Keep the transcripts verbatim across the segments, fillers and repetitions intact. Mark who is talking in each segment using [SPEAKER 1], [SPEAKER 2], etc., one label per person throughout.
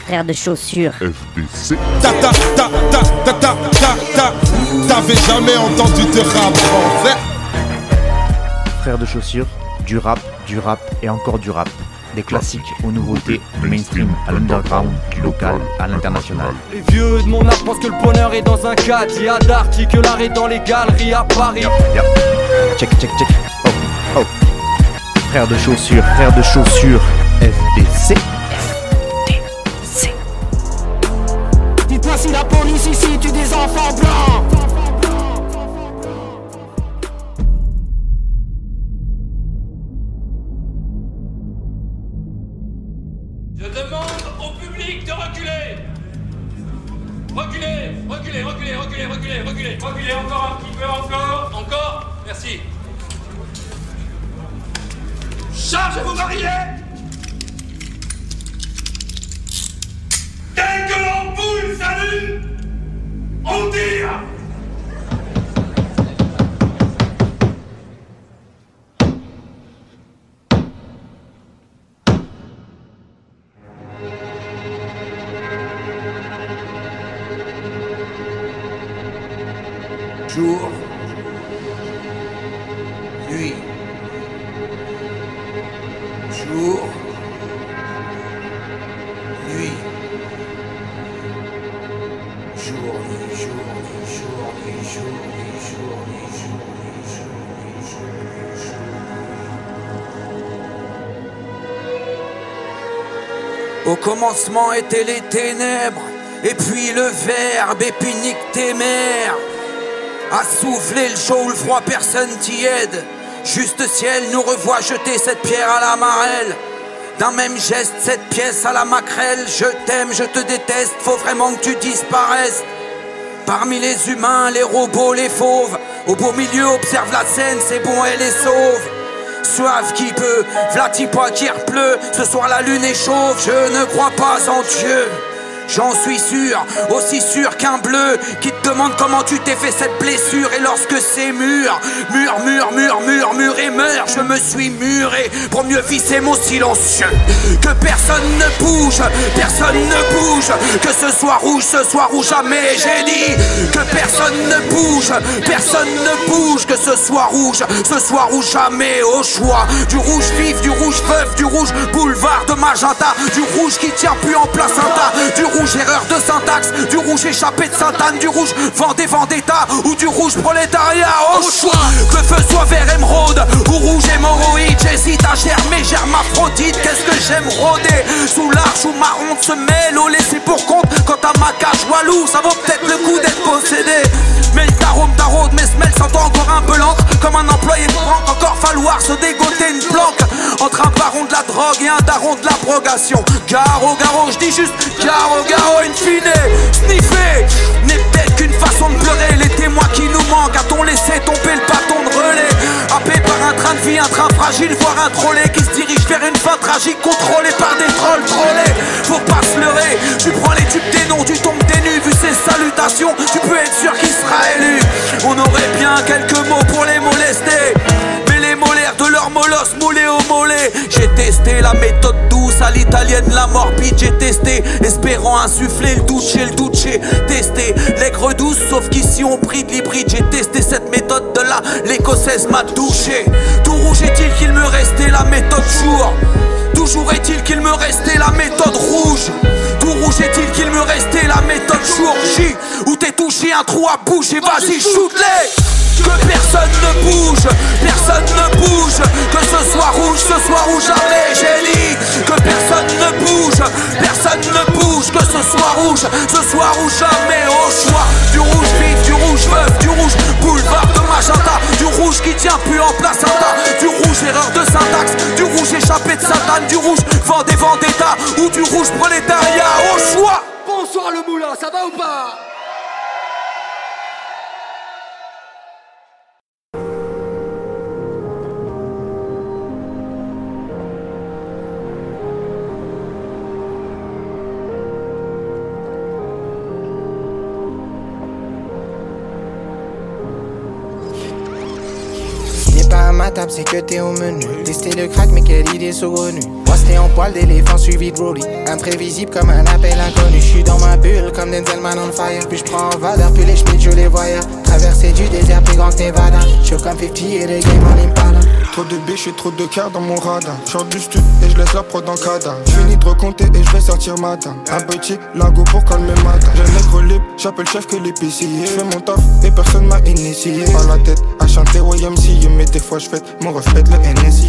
[SPEAKER 1] frère de chaussures.
[SPEAKER 2] F D C.
[SPEAKER 3] Ta ta ta ta ta ta ta ta. T'avais jamais entendu de rap français?
[SPEAKER 4] Frère de chaussures, du rap, du rap et encore du rap. Des classiques aux nouveautés, du mainstream à l'underground, du local à l'international.
[SPEAKER 5] Les vieux de mon âge pensent que le bonheur est dans un cadre. Il y a d'arty que l'art est dans les galeries à Paris.
[SPEAKER 4] Yep, yep. Check, check, check. Oh, oh. Frère de chaussures, frère de chaussures, F D C.
[SPEAKER 6] Dites-moi si la police ici tue des enfants blancs.
[SPEAKER 7] Je demande au public de reculer. Reculez, reculez, reculez, reculez, reculez, reculez. Reculez encore un petit peu, encore. Encore. Merci. Chargez vos barilets. Dès que l'ampoule s'allume, on tire.
[SPEAKER 8] Jour, nuit, jour, nuit, jour, nuit, jour, nuit, jour, nuit, jour, nuit, jour, nuit, jour, nuit, jour, nuit, jour, nuit, jour. Au commencement étaient les ténèbres, et puis le verbe, et puis nique tes mères. À souffler le chaud ou le froid, personne t'y aide. Juste ciel nous revoit jeter cette pierre à la marelle. D'un même geste, cette pièce à la maquerelle. Je t'aime, je te déteste, faut vraiment que tu disparaisses. Parmi les humains, les robots, les fauves, au beau milieu, observe la scène, c'est bon, elle est sauve. Soif qui peut, vlatipois qui repleut. Ce soir la lune est chauve, je ne crois pas en Dieu. J'en suis sûr, aussi sûr qu'un bleu qui te demande comment tu t'es fait cette blessure. Et lorsque c'est mûr, mûr, mûr, mûr, mûr, mûr et meurt, je me suis muré pour mieux visser mon silencieux. Que personne ne bouge, personne ne bouge. Que ce soit rouge, ce soit rouge jamais, j'ai dit. Que personne ne bouge, personne ne bouge. Que ce soit rouge, ce soit rouge jamais, au choix. Du rouge vif, du rouge veuf, du rouge boulevard de magenta. Du rouge qui tient plus en place un tas. Du rouge erreur de syntaxe, du rouge échappé de Sainte-Anne, du rouge Vendée Vendetta ou du rouge prolétariat, au choix. Que le feu soit vert émeraude ou rouge hémorroïde, j'hésite à germer, germaphrodite. Qu'est-ce que j'aime rôder sous l'arche où ma honte se mêle au laissé pour compte. Quant à ma cage walou, ça vaut peut-être le coup d'être possédé. Mais le tarôme taraude, mes semelles sentent encore un peu l'encre. Comme un employé de banque, encore falloir se dégoter une planque. Entre un baron de la drogue et un daron de l'abrogation. Garo, garo, je dis juste garo, garo, in fine. Sniffer n'est peut-être qu'une façon de pleurer. Les témoins qui nous manquent, a-t-on laissé tomber le bâton de relais? Happé par un train de vie, un train fragile, voire un trolley qui se dirige vers une fin tragique, contrôlé par des trolls trollés. Faut pas se leurrer, tu prends les tubes des noms, tu tombes des nues. Vu ses salutations, tu peux être sûr qu'il sera élu. On aurait bien quelques mots pour les molester, mais les molaires de leur molosse moulés au mollet. J'ai testé la méthode douce à l'italienne, la morbide. J'ai testé, espérant insuffler le doute chez le doute. J'ai testé l'aigre douce, sauf qu'ici on bride l'hybride. J'ai testé cette méthode de là, l'écossaise m'a touché. Tout rouge est-il qu'il me restait la méthode jour. Toujours est-il qu'il me restait la méthode rouge. Tout rouge est-il qu'il me restait la méthode jour J. Où t'es touché un trou à bouche et vas-y shoot-les. Que personne ne bouge, personne ne bouge. Que ce soit rouge, ce soit rouge jamais, j'ai dit. Que personne ne bouge, personne ne bouge. Que ce soit rouge, ce soit rouge jamais, au choix. Du rouge vif, du rouge veuf, du rouge boulevard de magenta. Du rouge qui tient plus en place un tas. Du rouge erreur de syntaxe, du rouge échappé de Sainte-Anne. Du rouge Vendée Vendetta ou du rouge prolétariat, au choix.
[SPEAKER 6] Bonsoir le moulin, ça va ou pas?
[SPEAKER 1] ma table, c'est que t'es au menu. Tester le crack, mais quelle idée saugrenue. Moi c'était en poil d'éléphant suivi de Brody. Imprévisible comme un appel inconnu. J'suis dans ma bulle comme Denzel Man on fire. Puis j'prends en valeur, puis les schmitts je les voyais. Traverser du désert plus grand que Nevada. J'suis comme cinquante et le game en impala.
[SPEAKER 2] Trop de biches et trop de cœur dans mon radar. J'sors du stud et je laisse la prod en cadavre. J'finis de recompter et je vais sortir matin. Un petit lago pour calmer matin. J'ai un nègre libre, j'appelle chef que l'épicier. J'fais mon taf et personne m'a initié. Pas la tête à chanter Y M C, mais des fois j'fête mon reflète le N S I.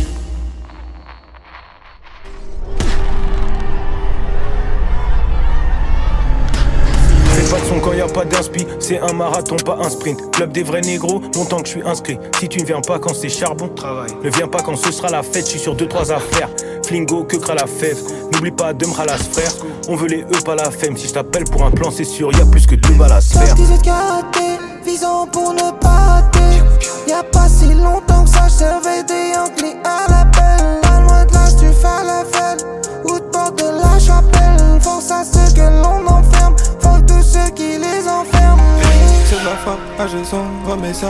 [SPEAKER 9] Pas de son quand y a pas d'inspi, c'est un marathon, pas un sprint. Club des vrais négros, longtemps que je suis inscrit. Si tu ne viens pas quand c'est charbon, travail. Ne viens pas quand ce sera la fête, je suis sur deux trois affaires. Flingo, que cra la fève. N'oublie pas de me ralasse frère. On veut les E, pas la femme. Si je t'appelle pour un plan, c'est sûr, y a plus que deux balles à se faire.
[SPEAKER 6] dix-huit karaté, visant pour ne pas rater. Y'a pas si longtemps que ça, j'servais des Yankees à l'appel. Pas loin de là, tu fais la fête. Ou de bord de la chapelle. Force à ceux que l'on enferme. Faut tous ceux qui les enferment.
[SPEAKER 2] C'est de la frappe, ah je sens, remets ça.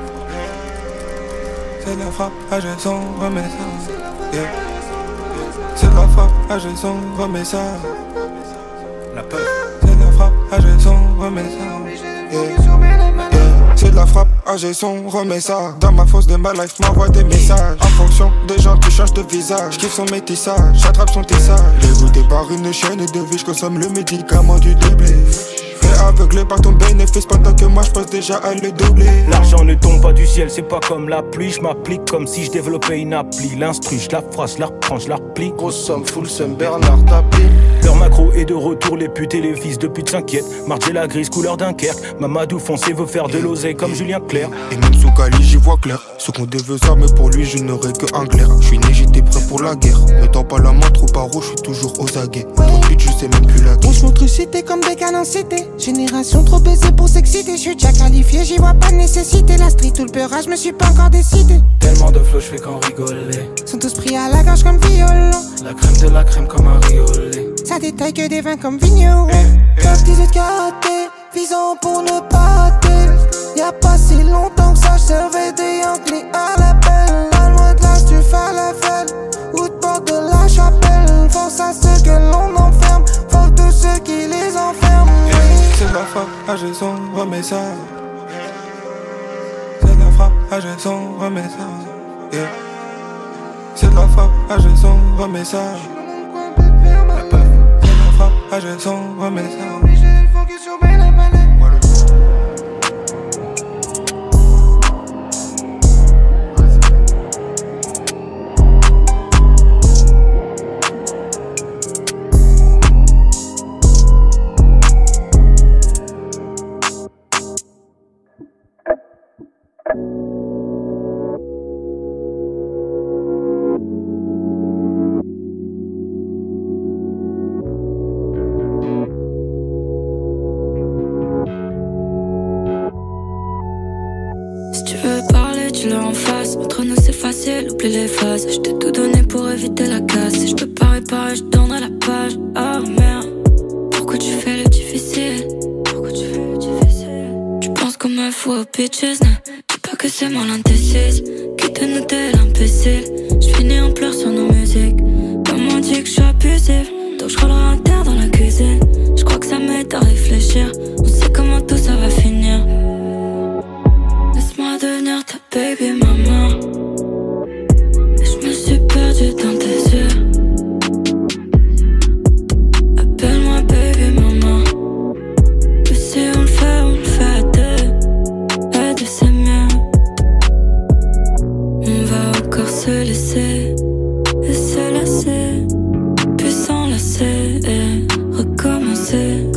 [SPEAKER 2] C'est de la frappe, ah je sens, remets ça. Yeah. C'est de la frappe, ah je sens, remets ça. La peur. C'est de la frappe, ah je sens, remets ça. Yeah. Yeah. C'est de la frappe, ah j'ai son, remets ça. Dans ma fosse de ma life, m'envoie des messages. En fonction des gens qui changent de visage. J'kiffe son métissage, j'attrape son tissage. Dégoûté par une chaîne de vie, j'consomme le médicament du déblé. Aveuglé par ton bénéfice pendant que moi je pense déjà à le doubler.
[SPEAKER 9] L'argent ne tombe pas du ciel, c'est pas comme la pluie. Je m'applique comme si je développais une appli. L'instru, je la phrase, je la reprends, je la replie.
[SPEAKER 2] Grosse somme, full somme, Bernard tapis.
[SPEAKER 9] Leur macro est de retour, les putes et les fils de pute s'inquiètent. Marge la grise, couleur Dunkerque. Mamadou foncé veut faire de l'oseille comme Julien Clerc.
[SPEAKER 2] Et même sous Cali, j'y vois clair. Ce qu'on devait ça, mais pour lui, je n'aurais que un clair. Je suis né, j'étais prêt pour la guerre. Ne tends pas la main trop par haut, je suis toujours aux aguets. Trop de je sais même plus la guerre.
[SPEAKER 6] On se montre cité comme des canons cités. Génération trop baisée pour s'exciter. Je suis déjà qualifié, j'y vois pas de nécessité. La street ou le peurage, je me suis pas encore décidé.
[SPEAKER 10] Tellement de flow, je fais qu'en rigoler.
[SPEAKER 6] Sont tous pris à la gorge comme violon.
[SPEAKER 10] La crème de la crème comme un riolet.
[SPEAKER 6] Ça détaille que des vins comme vigneron. Top dix-huit karaté, visant pour ne pas rater. Y'a pas si longtemps que ça, j'servais des Yankees à l'appel. Pas loin de là, tu fais la fête. Ou de bord de la chapelle. Force à ceux que l'on enferme. Faut tous ceux qui les enferment.
[SPEAKER 2] C'est de la frappe, ah je sens, remets ça. C'est de la frappe, ah je sens, remets ça. Yeah. C'est de la frappe, ah je sens, remets ça. La peur. C'est de la frappe, ah je sens, remets ça.
[SPEAKER 11] Oublie les phases, je t'ai tout donné pour éviter la casse. Si je peux pas réparer, je tournerai la page. Oh merde, pourquoi tu fais le difficile? Pourquoi tu fais le difficile? Tu penses comme un fou aux bitches, ne dis pas que c'est moi l'indécise. Qui te nous t'es l'imbécile? J'finis en pleurs sur nos musiques. Maman dit que j'suis abusif, donc j'rôlerai un terre dans la cuisine. J'crois que ça m'aide à réfléchir, on sait comment tout ça va finir. Laisse-moi devenir ta baby maman. Perdu dans tes yeux. Appelle-moi baby maman. Et si on le fait, on le fait à deux. À deux c'est mieux. On va encore se laisser et se lasser, puis s'enlacer et recommencer.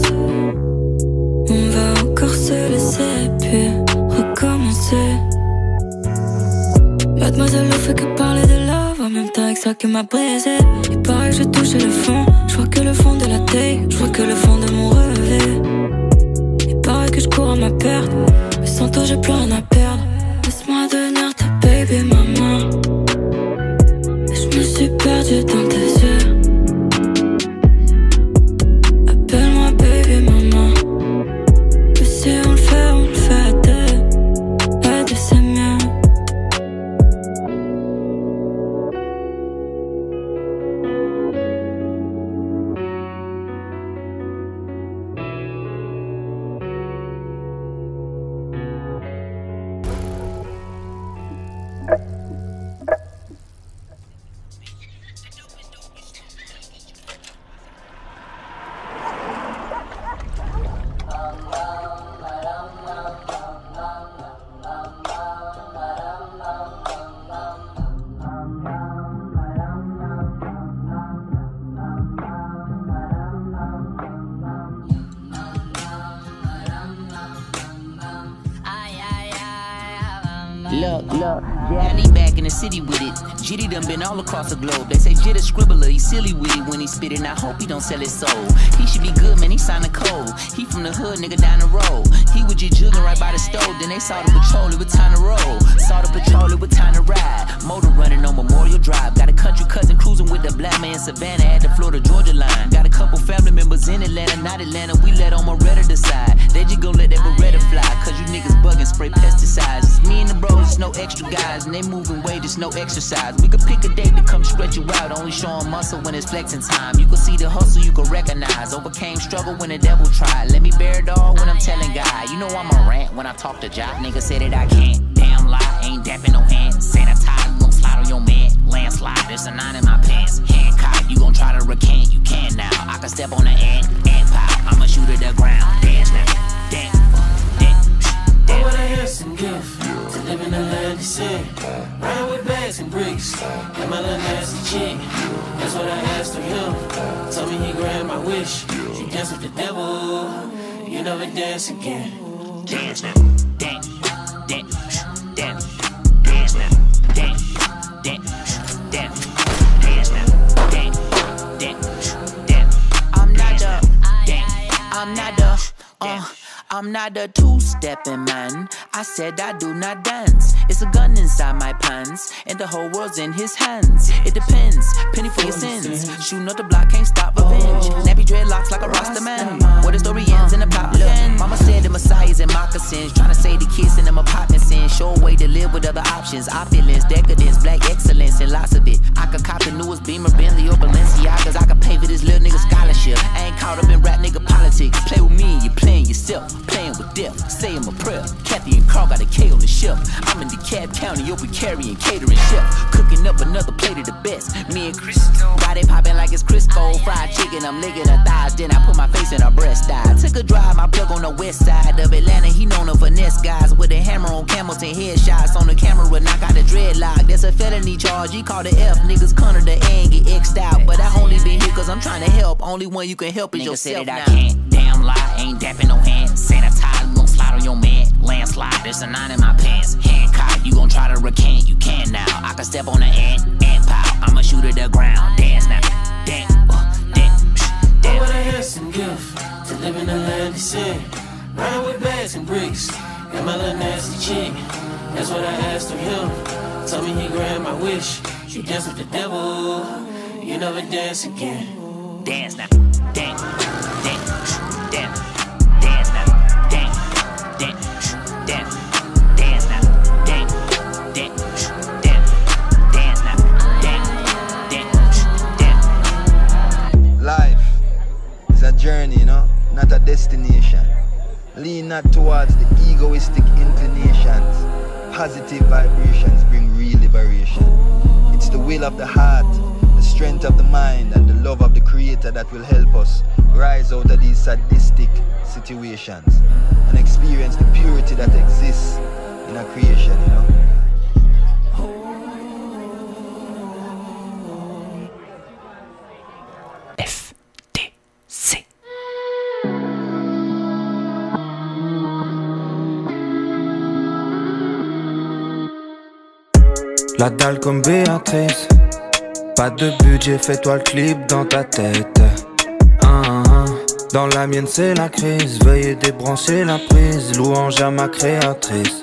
[SPEAKER 11] On va encore se laisser puis recommencer. Mademoiselle ne fait que parler de love, en même temps avec ça qui m'a brisé. Il paraît que j'ai touché le fond, je vois que le fond de la taille, je vois que le fond de mon relevé. Il paraît que je cours à ma perte, mais sans toi j'ai plus rien à perdre. Laisse-moi devenir ta baby maman. Et je me suis perdu dans tes yeux. Appelle-moi baby maman. Et si on le fait, on le fait à deux. À deux c'est mieux.
[SPEAKER 12] Look, look, yeah, he back in the city with it. Jitty done been all across the globe. They say Jit a scribbler, he silly with it when he spit it. And I hope he don't sell his soul. He should be good, man, he signed a code. He from the hood, nigga, down the road. He was just jugging right by the stove. Then they saw the patrol, it was time to roll. Saw the patrol, it was time to ride. Motor running on Memorial Drive. Got a country cousin cruising with the black man in Savannah at the Florida Georgia line. Got a couple family members in Atlanta, not Atlanta. We let on Moretta decide. They just gon' let that Beretta fly. Cause you niggas bugging, spray pesticides. It's me and the bros, it's no extra guys. And they moving weight, it's no exercise. We could pick a date to come stretch you out. Only showing muscle when it's flexing time. You can see the hustle, you can recognize. Overcame struggle when the devil tried. Let me bear it all when I'm telling God. You know I'm a rant when I talk to Jock. Nigga said that I can't. Damn lie, ain't dapping no hand. Sanitize, you gon' slide on your man. Landslide, there's a nine in my pants. Hancock, you gon' try to recant. You can now. I can step on the ant, ant pop. I'ma shoot to the ground. Dance now. Dance.
[SPEAKER 10] Oh, what a handsome gift to live in the land of sin. Ride with bags and bricks, and my little nasty chick. That's what I asked of him. Told me he grant my wish. She dance with the devil, you never dance again.
[SPEAKER 12] Dance now, dance, dance, dance, dance now, dance, dance, dance, dance now, dance, dance, dance. I'm not the, dance, I'm not the, uh. I'm not a two-stepping man. I said I do not dance. It's a gun inside my pants, and the whole world's in his hands. It depends, penny for your sins. Shooting up the block, can't stop revenge. Nappy dreadlocks like a Rasta man. Where the story ends in a pop end. Mama said the Messiah's in moccasins, trying to say the kids in them apartments in. Show a way to live with other options. Opulence, decadence, black excellence, and lots of it. I could cop the newest Beamer, Bentley, or Balenciagas. I could pay for this little nigga scholarship. I ain't caught up in rap nigga politics. Play with me, you're playing yourself. Playing with death, saying my prayer. Kathy and Carl got a K on the shelf. I'm in DeKalb County, open carrying catering chef. Cooking up another plate of the best. Me and Crisco got it popping like it's Crisco. Fried chicken, I'm licking her thighs. Then I put my face in her breast. I took a drive, my plug on the west side of Atlanta. He known her finesse guys with a hammer on camels and headshots on the camera. Knock out the dreadlock. That's a felony charge. He called the F. Niggas corner the A and get X'd out. But I only been here cause I'm trying to help. Only one you can help is nigga yourself. Said that I can't. Damn lie, ain't dapping no hand. Sanitize, you gon' slide on your man. Landslide, there's a nine in my pants. Hancock, you gon' try to recant. You can now. I can step on the ant, ant pow. I'ma shoot to the ground. Dance now. Dance, uh, dance, dance.
[SPEAKER 10] Oh, what a handsome gift to live in the land of sin. Ride with bags and bricks, and my little nasty chick. That's what I asked of him. Told me he grant my wish. You dance with the devil, you never dance again.
[SPEAKER 12] Dance now. Dance, dance, dance. Dance now. Dance, dance, dance. Dance now. Dance, dance, dance. Dance now. Dance, dance, dance.
[SPEAKER 13] Life is a journey, you know, not a destination. Lean not towards the egoistic inclinations. Positive vibrations bring real liberation. It's the will of the heart, the strength of the mind, and the love of the Creator that will help us rise out of these sadistic situations and experience the purity that exists in our creation, you know.
[SPEAKER 12] F D C.
[SPEAKER 14] La dalle comme Béatrice. Pas de budget, fais-toi le clip dans ta tête. Ah, ah. Dans la mienne c'est la crise. Veuillez débrancher la prise. Louange à ma créatrice.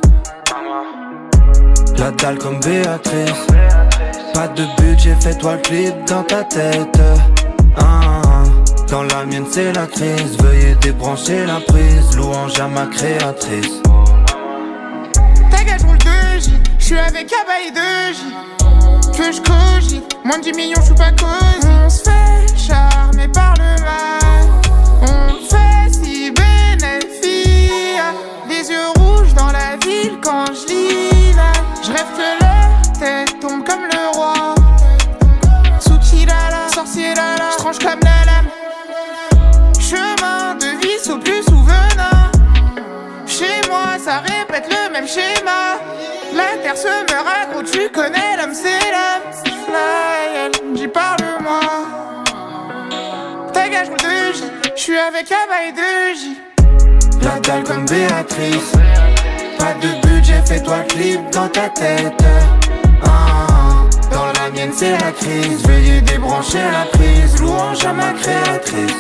[SPEAKER 14] La dalle comme Béatrice. Pas de budget, fais-toi le clip dans ta tête. Ah, ah. Dans la mienne c'est la crise. Veuillez débrancher la prise. Louange à ma créatrice.
[SPEAKER 15] Ta gueule, je roule deux J. J'suis avec Abba et deux J. Que je cogite, moins de dix millions, j'suis pas cosy. On se fait charmer par le mal. On fait si bénéfice. Des yeux rouges dans la ville quand je lis là. J'rêve que leur tête tombe comme le roi. Tsukilala, sorcier lala, j'tranche comme la lame. Chemin de vie au plus ou venin. Chez moi ça répète le même schéma. La terre se meurt à gros, tu connais l'homme c'est l'homme. Fly, elle me dit parle-moi. Ta gage roule deux J, j'suis avec Abba et deux J.
[SPEAKER 14] La dalle comme Béatrice. Pas de budget, fais-toi le clip dans ta tête. Ah, dans la mienne c'est la crise. Veuillez débrancher la prise. Louange à ma créatrice.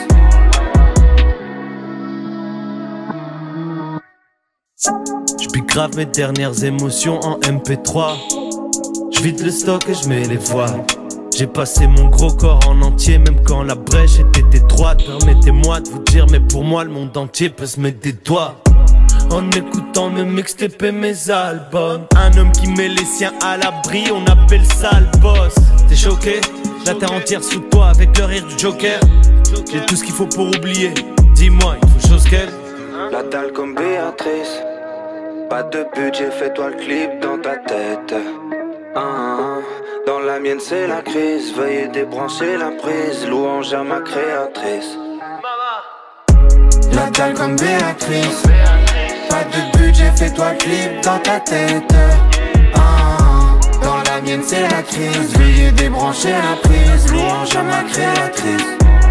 [SPEAKER 16] J'pique grave mes dernières émotions en M P trois. J'vide le stock et j'mets les voiles. J'ai passé mon gros corps en entier, même quand la brèche était étroite. Permettez-moi de vous dire, mais pour moi le monde entier peut se mettre des doigts en écoutant mes mixtapes et mes albums. Un homme qui met les siens à l'abri, on appelle ça le boss. T'es choqué? La terre entière sous toi avec le rire du Joker. J'ai tout ce qu'il faut pour oublier. Dis-moi, il faut chose qu'elle.
[SPEAKER 14] La dalle comme Béatrice. Pas de budget, fais-toi le clip dans ta tête. Ah, dans la mienne c'est la crise. Veuillez débrancher la prise. Louange à ma créatrice. La dalle comme Béatrice. Pas de budget, fais-toi le clip dans ta tête. Ah, dans la mienne c'est la crise. Veuillez débrancher la prise. Louange à ma créatrice.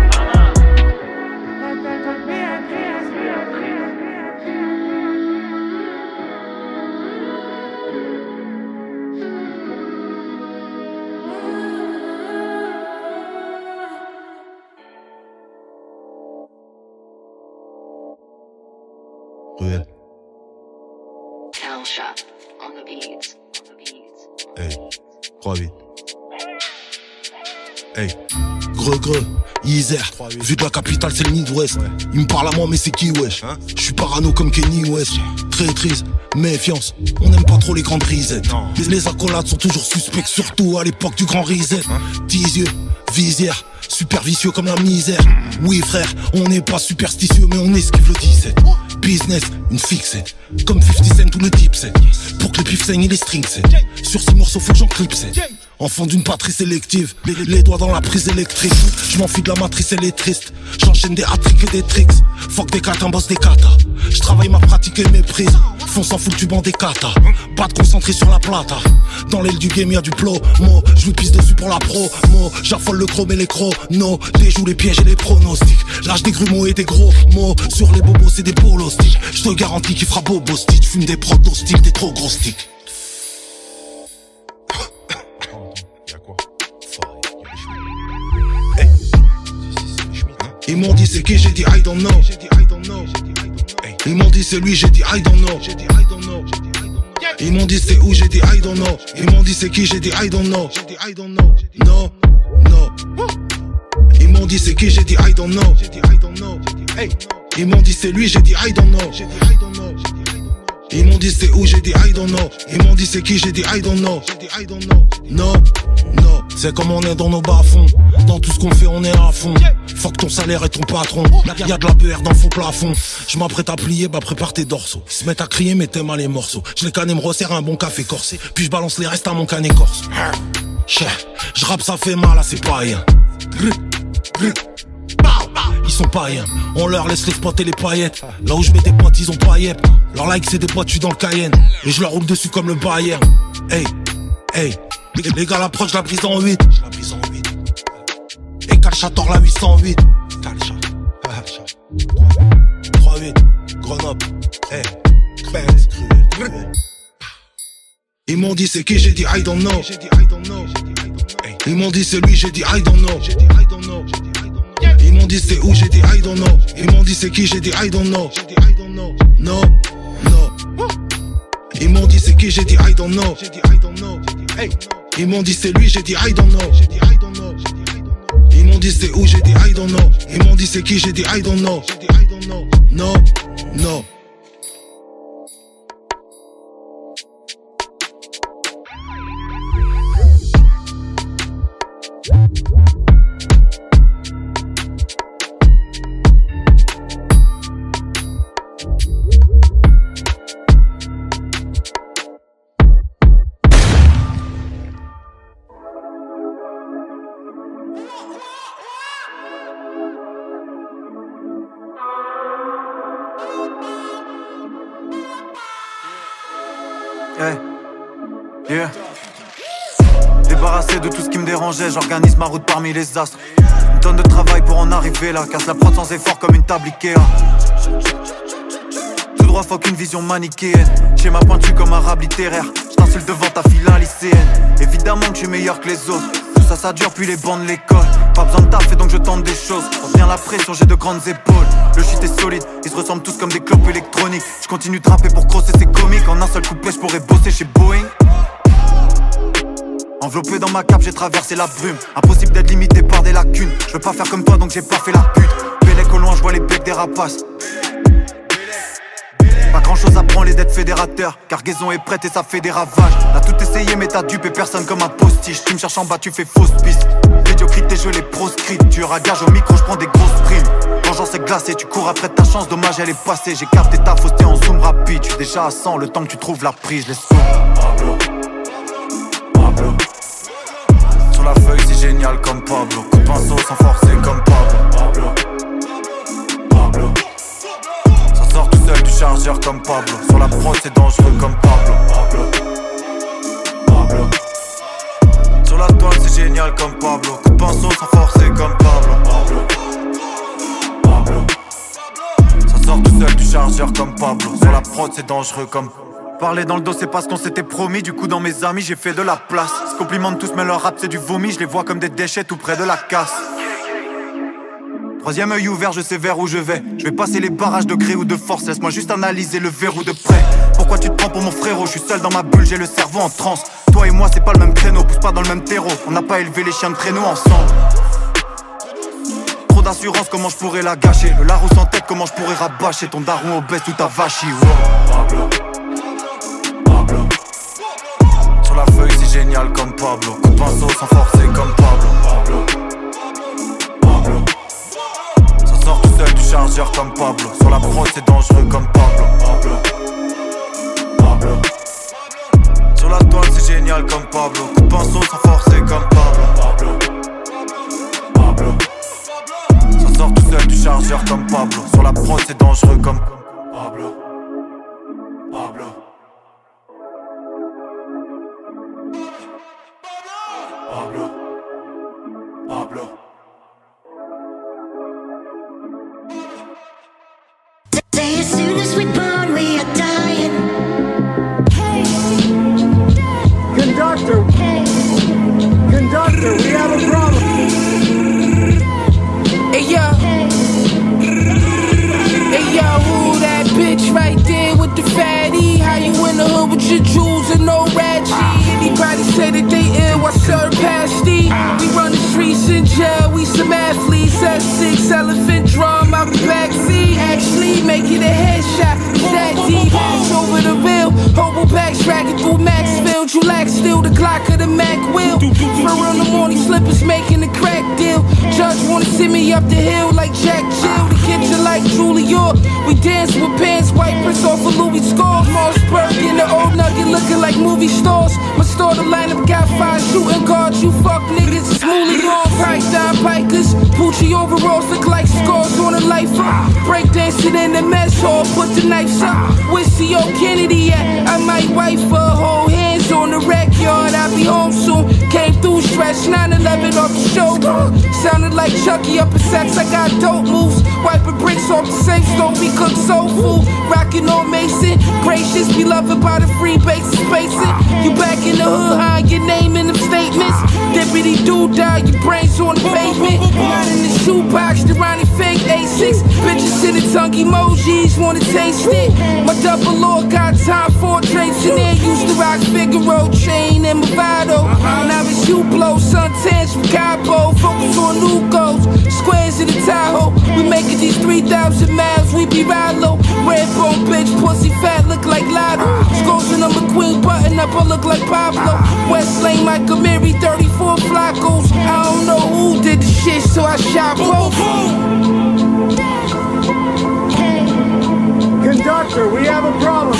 [SPEAKER 17] Ruelle.
[SPEAKER 18] Shot on the beats.
[SPEAKER 17] Hey, trois huit. Hey, greux greux, Isère. Vu de la capitale, c'est le Midwest. Il me parle à moi, mais c'est qui, wesh? Je suis parano comme Kenny West. Traîtrise, méfiance. On n'aime pas trop les grandes risettes. Les, les accolades sont toujours suspects, surtout à l'époque du grand reset. Dix yeux, visière. Super vicieux comme la misère. Oui frère, on n'est pas superstitieux, mais on esquive le dix-sept. Business, une fixette. Comme cinquante cent ou le dipset. Pour que les pifs saignent et les strings set. Sur ces morceaux faut que j'en clipse. Enfant d'une patrie sélective, les, les doigts dans la prise électrique. Je m'enfuis de la matrice, elle est triste. J'enchaîne des hat-tricks et des tricks. Fuck des katas, boss des katas. Je travaille ma pratique et mes prises. Fonce en fout du banc des katas. Pas de concentré sur la plata. Dans l'aile du game y'a du plomo. Je lui pisse dessus pour la promo. J'affole le chrome et les chronos. Déjoue les pièges et les pronostics. Lâche des grumeaux et des gros mots. Sur les bobos c'est des bolos sticks. Je te garantis qu'il fera bobo stick. Fume des protos stick, des trop gros sticks. Ils m'ont dit c'est qui, j'ai dit I don't know. Ils m'ont dit c'est lui, j'ai dit I don't know. Ils m'ont dit c'est où, j'ai dit I don't know. Ils m'ont dit c'est qui, j'ai dit I don't know. Non, non. Ils m'ont dit c'est qui, j'ai dit I don't know. Ils m'ont dit c'est lui, j'ai dit I don't know. Ils m'ont dit c'est où, j'ai dit I don't know. Ils m'ont dit c'est qui, j'ai dit I don't know. Non, non. C'est comme on est dans nos bas-fonds. Dans tout ce qu'on fait on est à fond. Fuck ton salaire et ton patron. Y'a de la B R dans le faux plafond. Je m'apprête à plier, bah prépare tes dorsaux. Ils se mettent à crier mais t'aimes à les morceaux. Je les canne et me resserre un bon café corsé. Puis je balance les restes à mon canet corse. Je rappe ça fait mal à ces païens. Ils sont païens, on leur laisse les spots et les paillettes. Là où je mets des potes ils ont pas yep. Leur like c'est des potes, je suis dans le Cayenne. Et je leur roule dessus comme le Bayern. Hey, hey. Les gars l'approche, la brise en huit. Et Calchator la huit cent huit. trois huit, Grenoble. Hey, ils m'ont dit c'est qui, j'ai dit I don't know. Ils m'ont dit c'est lui, j'ai dit I don't know. Ils m'ont dit c'est où, j'ai dit I don't know. Ils m'ont dit c'est qui, j'ai dit I don't know. Non, non. Ils m'ont dit c'est qui, j'ai dit I don't know. Ils m'ont dit c'est lui, j'ai dit I don't know. Ils m'ont dit c'est où, j'ai dit I don't know. Ils m'ont dit c'est qui, j'ai dit I don't know. Non, non.
[SPEAKER 19] Hey, yeah. Débarrassé de tout ce qui me dérangeait, j'organise ma route parmi les astres. Une tonne de travail pour en arriver là, casse la prod sans effort comme une table Ikea. Tout droit, fuck une vision manichéenne. Schéma pointu comme un rap littéraire. J't'insulte devant ta fille un lycéenne. Évidemment que je suis meilleur que les autres. Tout ça, ça dure puis les bancs de l'école. Pas besoin de taf et donc je tente des choses. On bien la pression, j'ai de grandes épaules. Le shit est solide, ils se ressemblent tous comme des clopes électroniques. Je continue de rapper pour crosser ces comiques. En un seul couplet, je pourrais bosser chez Boeing. Enveloppé dans ma cape, j'ai traversé la brume. Impossible d'être limité par des lacunes. Je veux pas faire comme toi donc j'ai pas fait la pute. Bélec au loin, je vois les becs des rapaces. Pas grand chose à prendre les dettes fédérateurs. Cargaison est prête et ça fait des ravages. T'as tout essayé mais t'as dupé personne comme un postiche. Tu me cherches en bas, tu fais fausse piste. Médiocrité, je les proscrite. Tu ragages au micro, je prends des grosses primes. Vengeance est glacée, tu cours après ta chance. Dommage, elle est passée. J'ai capté ta fausseté en zoom rapide. Je suis déjà à cent, le temps que tu trouves la prise, je les sauve. Pablo, Pablo. Sur la feuille, c'est génial comme Pablo. Coup de pinceau sans forcer comme Pablo. Pablo, Pablo. Ça sort tout seul du chargeur comme Pablo. Sur la prod, c'est dangereux comme Pablo. Pablo, Pablo. Sur la toile, c'est génial comme Pablo. Coup de pinceau sans forcer comme Pablo. Pablo, Pablo. Ça sort tout seul du chargeur comme Pablo. Sur la prod, c'est dangereux comme Pablo. Parler dans le dos c'est pas ce qu'on s'était promis. Du coup dans mes amis j'ai fait de la place. Se complimentent tous mais leur rap c'est du vomi. Je les vois comme des déchets tout près de la casse. Troisième œil ouvert, je sais vers où je vais. Je vais passer les barrages de gré ou de force. Laisse-moi juste analyser le verrou de près. Pourquoi tu te prends pour mon frérot? Je suis seul dans ma bulle, j'ai le cerveau en transe. Toi et moi c'est pas le même créneau, pousse pas dans le même terreau. On n'a pas élevé les chiens de traîneau ensemble. Trop d'assurance, comment je pourrais la gâcher? Le Larousse en tête, comment je pourrais rabâcher ton daron obèse ou ta vachie? Pablo, Pablo. Sur la feuille c'est génial comme Pablo. Coup de pinceau sans forcer comme Pablo. Pablo, Pablo. Ça sort tout seul du chargeur comme Pablo. Sur la prod c'est dangereux comme Pablo. Pablo, Pablo. Sur la toile c'est génial comme Pablo. Coup de pinceau sans forcer comme Pablo. Pablo, Pablo. Ça sort tout seul du chargeur comme Pablo. Sur la prod c'est dangereux comme Pablo. Pablo. Pablo, Pablo.
[SPEAKER 20] Say as soon as we born we are dying. Hey,
[SPEAKER 21] conductor. Hey, conductor, we have a problem.
[SPEAKER 22] Hey yo, hey yo, who that bitch right there with the fatty? How you in the hood with your jewels and no rat G? Anybody say that they ill, I surpass these. We run the streets in jail, we some athletes. S six elephant drum out the backseat. Actually making a headshot, is that deep? Pass over the bill, hobo bags dragging through Maxfield. You lack still the Glock of the Mac wheel. For in the morning slippers making a crack deal. Judge wanna see me up the hill like Jack Jill. The kitchen like Julia. We dance with pants, wipers off of Louis Score. Mossberg in the old nugget looking like movie stores. My store the lineup got five shooting guards. You fuck niggas, it's mooly on. Pipe down pikers, Pucci overalls look like scars on a lifer. Breakdancing in the mess hall, put the knives up. Where's C O Kennedy at? I might wife her, hold hands on the wreck yard. I'll be home soon. Came through stretch nine eleven off the shoulder. Sounded like Chucky up in sex. I got dope moves. Wiping bricks off the safe stove. We cook soul food. Rockin' on Mason. Gracious, beloved by the free bases spacing. You back in the hood, hide your name in them statements. Deputy dude die, your brains on the pavement. Not in the shoebox, the Ronnie fake A six. Bitches sending tongue emojis, wanna taste it. My double lord got time for drinks in there. Used to rock Figaro, chain and Movado. Now it's you blow, suntans from Cabo. Focus on new goals, squares in the Tahoe. We making these three thousand miles, we be ride low. Red bone bitch, pussy fat, look like Lotto. Scores and I'm a queen, button up, I look like Pablo. West Lane, Michael Mary, thirty-four Flacos. I don't know who did the shit, so I shot both.
[SPEAKER 21] Conductor, we have a problem.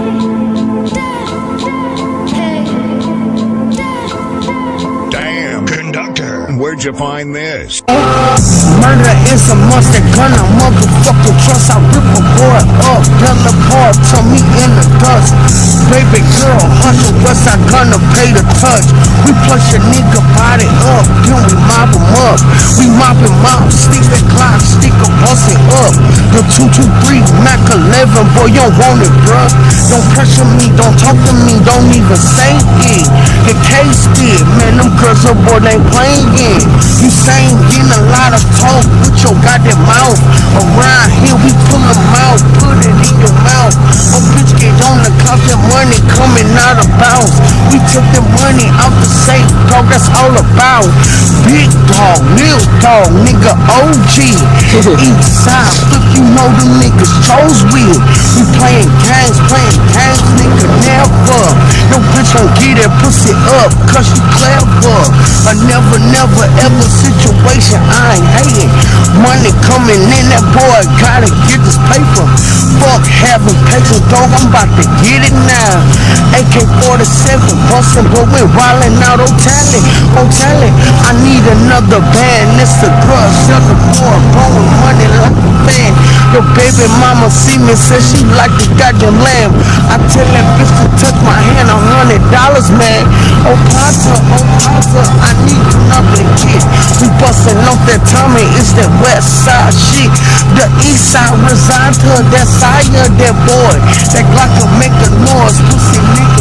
[SPEAKER 23] Damn, conductor, where'd you find this?
[SPEAKER 21] Murder is a must, that gun a motherfucking trust. I rip a boy up, tell the boy, turn me in the dust. Baby
[SPEAKER 3] baby girl hustle, what's I gonna pay to touch? We push a nigga body up, then we mop him up. We mop him up, stick that clock, stick a bust it up. The two two three, Mac eleven, boy, you don't want it, bruh. Don't pressure me, don't talk to me, don't even say it. The case did, man, them girls up, boy, they playing. You saying getting a lot of talk with your goddamn mouth. Around here, we pull them out, put it in your mouth. Oh, bitch, get on the clock, that money coming out of bounds. We took the money out the safe, dog, that's all about. Big dog, little dog, nigga O G. East side, look, you know the niggas chose with. We playing games, playing games, nigga, never. No bitch don't get that pussy up, cause you clever. A never, never, ever situation, I ain't hating. Money coming in, that boy gotta get this paper. Fuck having paper, dog, I'm about to get it now. A K forty-seven, bustin', but we wildin' out on talent, on talent. I need another band, it's the drug, sell the boy, blowing money like a fan. Your baby mama see me, says she like the goddamn lamb. I tell that bitch to touch my hand, a hundred dollars, man. Oh, Pata, oh, Pata, I need another kid. We bustin' off that Tommy, it's that west side shit. The east side reside to that side of that boy. That Glock will make a noise, pussy nigga.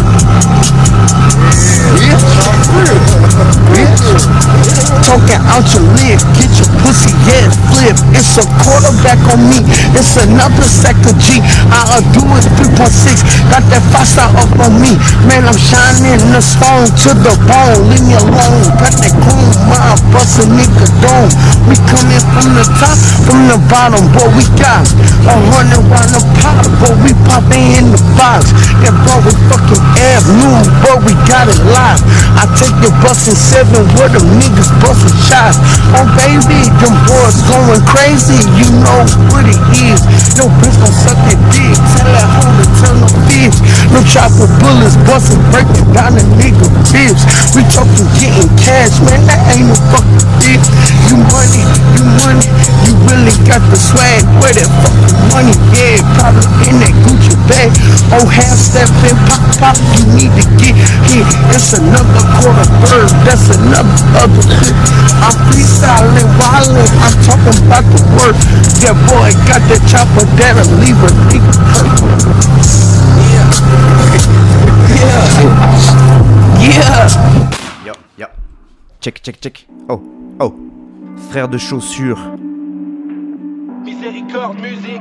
[SPEAKER 3] Bitch, bitch, talking out your lip, get your pussy ass flip. It's a quarterback on me, it's another sack of G. I'll do it three point six, got that five star up on me. Man, I'm shining the stone to the bone, leave me alone. Got that cool mind, bust a nigga dome. We coming from the top, from the bottom, boy, we got a hundred round the pot, boy, we poppin' in the box. That boy, we fucking avenue, boy, we got it live. I take your bustin' seven where them niggas bustin' shots. Oh baby, them boys going crazy, you know what it is. No bitch gon' suck that dick, tell that hoe to turn no bitch. No chopper bullets bustin', breaking down the nigga ribs. We talkin' getting cash, man, that ain't no fucking bitch. You money, you money, you really got the swag. Where that fucking money, yeah, probably in that Gucci bag. Oh, half step in, pop, pop, you need to get hit. It's another quarter bird, that's another other shit. I'm freestyling, wildin', I'm talking about the work. That boy got that chopper that'll leave a nigga hurt. Yeah. Yeah.
[SPEAKER 4] Yo, yo. Check, check, check. Oh, oh. Frère de chaussures.
[SPEAKER 5] Miséricorde, musique.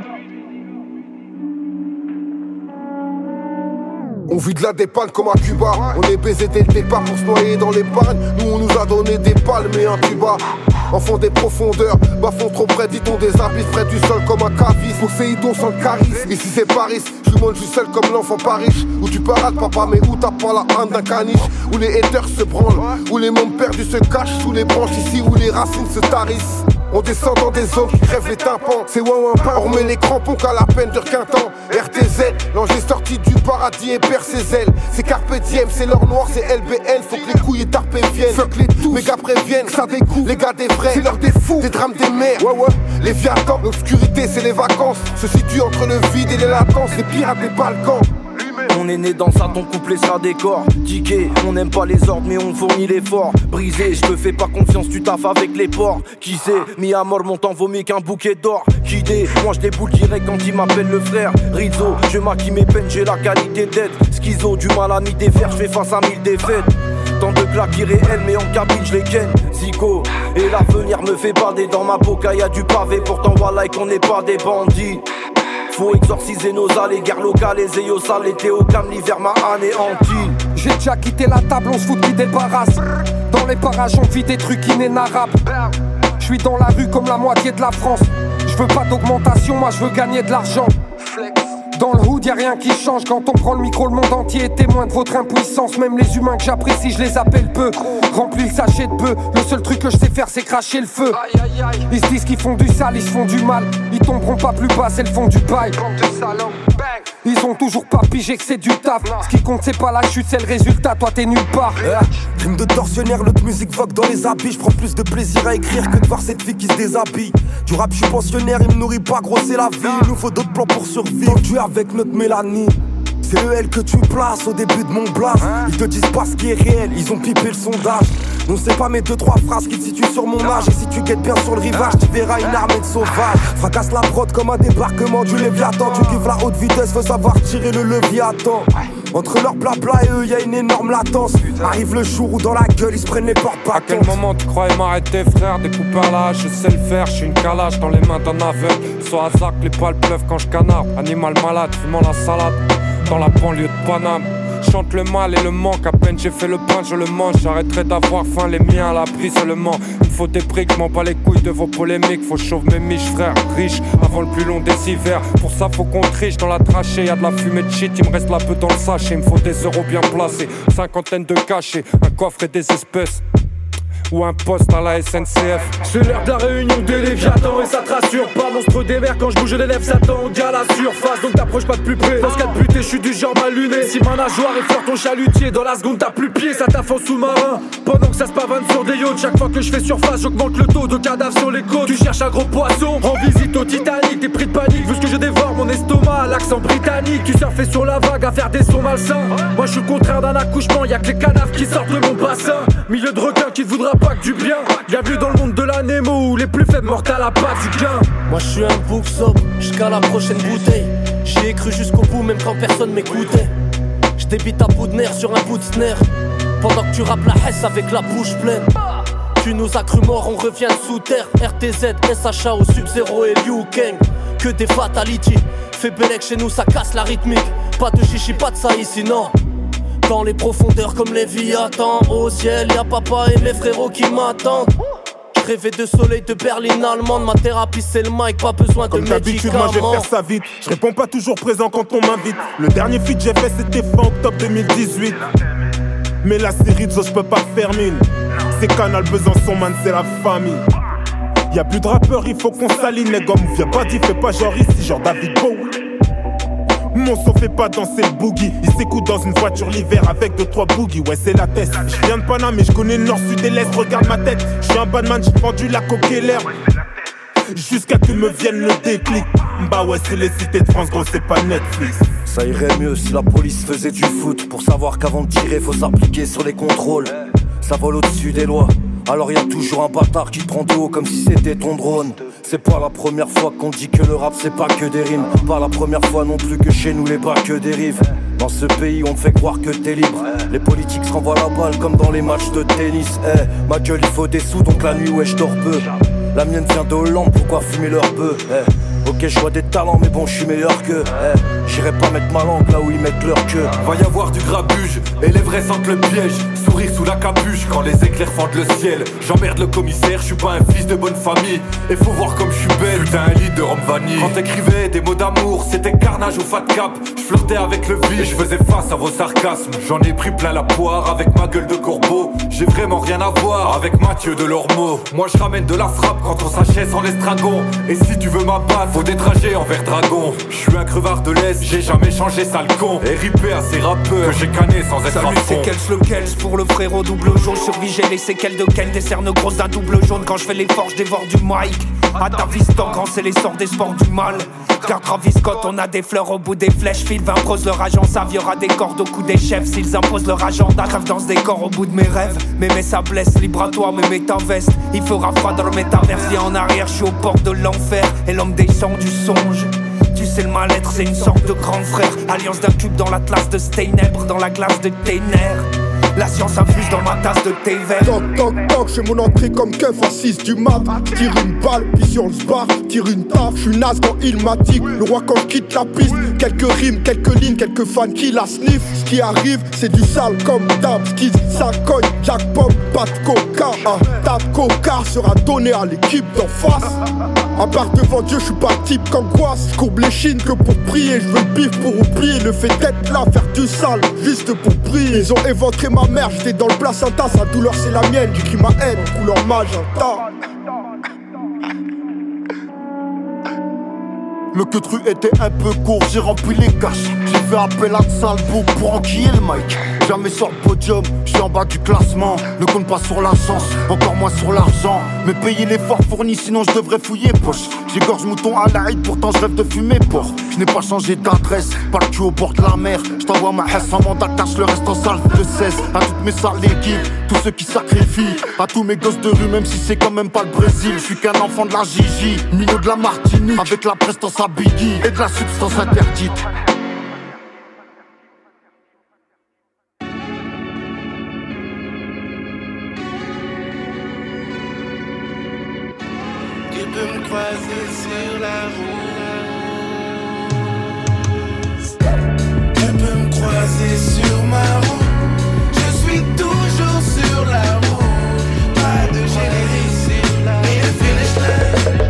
[SPEAKER 24] On vit de la dépanne comme à Cuba. On est baisé dès le départ pour se noyer dans les pannes. Nous on nous a donné des palmes et un tuba. Enfant des profondeurs, bas-fond trop près, dit-on des abysses, près du sol comme un cavis. Poséidon sans le charisme, ici c'est Paris. Je suis je suis seul comme l'enfant pas riche. Où tu parades papa mais où t'as pas la haine d'un caniche. Où les haters se branlent, où les membres perdus se cachent sous les branches. Ici où les racines se tarissent. On descend dans des zones qui crèvent les tympans. C'est ouin ouin pain, on remet les crampons qu'à la peine dure qu'un temps. R T Z, l'ange est sorti du paradis et perd ses ailes. C'est Carpe Diem, c'est l'or noir, c'est L B L. Faut que les couilles et tarpés viennent. Fuck les tous, mes gars préviennent, ça découvre. Les gars des vrais, c'est l'heure des fous, des drames des mers. Ouais ouais, les viatans, l'obscurité c'est les vacances. Se situe entre le vide et les latences, les pirates des Balkans.
[SPEAKER 25] On est né dans ça, ton couplet sera décor. Ticket, on n'aime pas les ordres mais on fournit l'effort. Brisé, je te fais pas confiance, tu taffes avec les porcs. Qui sait, mis à mort mon temps vaut mieux qu'un bouquet d'or. Qui dé, moi je déboule direct quand il m'appelle le frère. Rizzo, je maquille mes peines, j'ai la qualité d'être. Schizo, du mal à m'y défaire, je fais face à mille défaites. Tant de claques irréelles mais en cabine je les ken. Zico, et l'avenir me fait bader. Dans ma boca y'a du pavé, pourtant voilà qu'on n'est pas des bandits. Faut exorciser nos allées, guerre locale, les éos sales, l'été au calme, l'hiver m'a anéanti.
[SPEAKER 26] J'ai déjà quitté la table, on se fout qui débarrasse. Dans les parages on vit des trucs inénarrables. J'suis dans la rue comme la moitié de la France. J'veux pas d'augmentation, moi j'veux gagner de l'argent. Dans le hood y'a rien qui change. Quand on prend le micro, le monde entier est témoin de votre impuissance. Même les humains que j'apprécie, je les appelle peu. Remplis le sachet de bœuf, le seul truc que je sais faire c'est cracher le feu. Ils se disent qu'ils font du sale, ils se font du mal. Ils tomberont pas plus bas, c'est le fond du bail. Ils ont toujours pas pigé que c'est du taf. Ce qui compte c'est pas la chute, c'est le résultat, toi t'es nulle part.
[SPEAKER 27] Rime de tortionnaire, l'autre musique vogue dans les habits. Je prends plus de plaisir à écrire que de voir cette fille qui se déshabille. Du rap je suis pensionnaire, il me nourrit pas, gros c'est la vie. Il nous faut d'autres plans pour survivre, tu es avec notre Mélanie. C'est le L que tu places au début de mon blast. Ils te disent pas ce qui est réel, ils ont pipé le sondage. Non c'est pas mes deux trois phrases qui te situent sur mon âge. Et si tu guettes bien sur le rivage, tu verras une armée de sauvages. Fracasse la prod comme un débarquement du Léviathan. Tu kiffes la haute vitesse, faut savoir tirer le Léviathan. Entre leur blabla et eux y'a une énorme latence. Arrive le jour où dans la gueule ils se prennent les portes pas.
[SPEAKER 26] À quel moment tu croyais m'arrêter frère? Découpeur là, je sais le faire, je suis une calage dans les mains d'un aveugle. Soit à Zac, les poils pleuvent quand je canarde. Animal malade, fumant la salade dans la banlieue de Paname. Chante le mal et le manque, à peine j'ai fait le pain, je le mange. J'arrêterai d'avoir faim, les miens à l'abri seulement. Il me faut des briques, m'en bats les couilles de vos polémiques. Faut chauffer mes miches frère, riche avant le plus long des hivers. Pour ça faut qu'on triche dans la trachée, y'a de la fumée de shit. Il me reste la peu dans le sachet, il me faut des euros bien placés. Cinquantaine de cachets, un coffre et des espèces. Ou un poste à la S N C F.
[SPEAKER 1] C'est l'heure de la réunion des Léviathans. Et ça te rassure pas, monstre des mers. Quand je bouge les lèvres, Satan, on dit à la surface. Donc t'approches pas de plus près. Dans ce cas de buté, je suis du genre mal luné. Si ma nageoire effleure ton chalutier, dans la seconde t'as plus pied, ça taffe en sous-marin. Pendant que ça se pavane sur des yachts, chaque fois que je fais surface, j'augmente le taux de cadavres sur les côtes. Tu cherches un gros poisson, en visite au Titanic. T'es pris de panique, vu ce que je dévore mon estomac, l'accent britannique. Tu surfais sur la vague à faire des sons malsains. Moi je suis le contraire d'un accouchement, y'a que les cadavres qui sortent de mon bassin. Milieu de requin qui te voudra pas que du bien. Bienvenue dans le monde de la Nemo où les plus faibles mortent à la patte du gain.
[SPEAKER 25] Moi je suis un bouc sobre jusqu'à la prochaine bouteille. J'y ai cru jusqu'au bout même quand personne m'écoutait. Je débite à bout de nerfs sur un bout de snare. Pendant que tu rappes la hesse avec la bouche pleine. Tu nous as cru morts, on revient sous terre. R T Z, S H A au Sub-Zero et Liu Kang. Que des fatalities. Fais Bellec chez nous ça casse la rythmique. Pas de chichi, pas de ça ici non. Dans les profondeurs comme les Léviathans. Au ciel y'a papa et mes frérots qui m'attendent. Je rêvais de soleil de berline allemande. Ma thérapie c'est le mic, pas besoin
[SPEAKER 2] comme
[SPEAKER 25] de
[SPEAKER 2] d'habitude,
[SPEAKER 25] médicaments.
[SPEAKER 2] moi je vais faire ça vite. Je réponds pas toujours présent quand on m'invite. Le dernier feat j'ai fait c'était fin octobre deux mille dix-huit. Mais la série de zo, je peux pas faire mine. C'est Canal Besançon man, c'est la famille. Y'a plus de rappeurs, il faut qu'on s'aligne. Les gommes, viens pas dit, fais pas genre ici, genre David Bowie. Mon son fait pas danser le boogie. Il s'écoute dans une voiture l'hiver avec deux trois boogies. Ouais c'est la test. Je viens de Paname mais je connais le nord, sud et l'est. Regarde ma tête, je suis un badman, j'ai vendu la coque et l'herbe. Jusqu'à que me vienne le déclic. Bah ouais c'est les cités de France, gros c'est pas Netflix.
[SPEAKER 27] Ça irait mieux si la police faisait du foot. Pour savoir qu'avant de tirer faut s'appliquer sur les contrôles. Ça vole au-dessus des lois. Alors y'a toujours un bâtard qui te prend de haut comme si c'était ton drone. C'est pas la première fois qu'on dit que le rap c'est pas que des rimes. Pas la première fois non plus que chez nous les bas que dérive. Dans ce pays on te fait croire que t'es libre. Les politiques se renvoient la balle comme dans les matchs de tennis. Eh, hey, ma gueule il faut des sous donc la nuit ouais je dors peu. La mienne vient de Hollande, pourquoi fumer leur bœuf? Eh, ok je vois des talents mais bon je suis meilleur que. Eh, j'irai pas mettre ma langue là où ils mettent leur queue.
[SPEAKER 5] Va y avoir du grabuge et les vrais sentent le piège. Sourire sous la capuche quand les éclairs fendent le ciel. J'emmerde le commissaire, je suis pas un fils de bonne famille. Et faut voir comme je suis belle, putain un lit de rhum vanille. Quand t'écrivais des mots d'amour, c'était carnage ou fat cap. Je flirtais avec le vide, je faisais face à vos sarcasmes. J'en ai pris plein la poire avec ma gueule de corbeau. J'ai vraiment rien à voir avec Mathieu de Lormeau. Moi je ramène de la frappe quand on s'achète en l'estragon. Et si tu veux ma patte, faut des trajets envers dragon. Je suis un crevard de l'Est, j'ai jamais changé sale con. Et ripé à ces rappeurs que j'ai canné sans être
[SPEAKER 6] Salut,
[SPEAKER 5] à fond.
[SPEAKER 6] c'est Kels le Kels pour le frérot double jaune. Survie, j'ai les séquelles de quel des cernes grosses d'un double jaune. Quand je fais les forges, dévore du mic. À ta vista, grand, c'est l'essor des sports du mal. Car Travis Scott, on a des fleurs au bout des flèches. Phil vingt pros leur agent, ça viera des cordes au cou des chefs. S'ils imposent leur agenda, rêve dans ce décor au bout de mes rêves. Mais mais ça blesse, libre à toi, mais mets ta veste. Il fera froid dans le métaverse, viens en arrière, je suis au port de l'enfer. Et l'homme descend du songe. Tu sais le mal-être, c'est une sorte de grand frère. Alliance d'un cube dans l'atlas de Steinèbre, dans la glace de tes nerfs. La science infuse dans ma tasse de thé vert.
[SPEAKER 24] Toc toc toc, j'ai mon entrée comme keuf à six du mat. Tire une balle, puis si on se barre, tire une taf. J'suis naze quand il m'attique. Le roi quand je quitte la piste. Quelques rimes, quelques lignes, quelques fans qui la sniff. Ce qui arrive, c'est du sale comme d'hab. Skis, ça cogne, jackpot, pas de coca. Un tas de coca sera donné à l'équipe d'en face. À part devant Dieu, j'suis pas le type qu'angoisse. J'courbe les chines que pour prier. J'veux le bif pour oublier. Le fait d'être là, faire du sale, juste pour prier. Ils ont éventré ma mère, j'étais dans le placenta. Sa douleur c'est la mienne, j'écris ma haine en couleur magenta.
[SPEAKER 27] Le queutru était un peu court, j'ai rempli les caches. J'ai fait appel à Salbo pour enquiller le mic.
[SPEAKER 7] Jamais sur le podium, je suis en bas du classement. Ne compte pas sur la chance, encore moins sur l'argent. Mais payer l'effort fourni, sinon je devrais fouiller poche. J'égorge mouton à la haie, pourtant je rêve de fumer porc. Je n'ai pas changé d'adresse, pas le cul au bord de la mer. Je t'envoie ma haisse en mandat, cache le reste en salve de seize. À toutes mes sales équipes, tous ceux qui sacrifient. À tous mes gosses de rue, même si c'est quand même pas le Brésil. Je suis qu'un enfant de la Gigi, milieu de la Martinique. Avec la prestance à Biggie et de la substance interdite.
[SPEAKER 8] Tu peux me croiser sur la route. Tu peux me croiser sur ma route. Je suis toujours sur la route. Pas de générer sur la mais le finish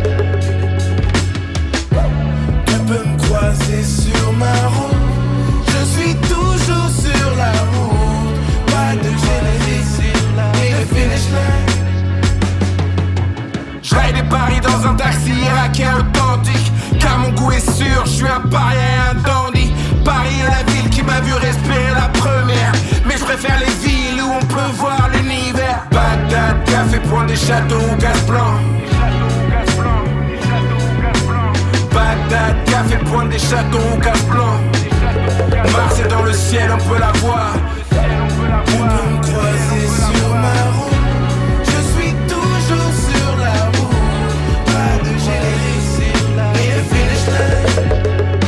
[SPEAKER 8] line. Tu peux me croiser sur ma route. Je suis toujours sur la route. Pas de générer sur la mais le finish line. J'raille des paris dans un taxi irakien authentique. Car mon goût est sûr, je suis un paria et un dandy. Paris est la ville qui m'a vu respirer la première. Mais je préfère les villes où on peut voir l'univers. Bagdad, café, point des châteaux ou gaz blanc. Bagdad, café, point des châteaux ou gaz blanc. Mars est dans le ciel, on peut la voir. Tu peux me croiser sur ma route. Je suis toujours sur la route. Pas de générer sur la et le finish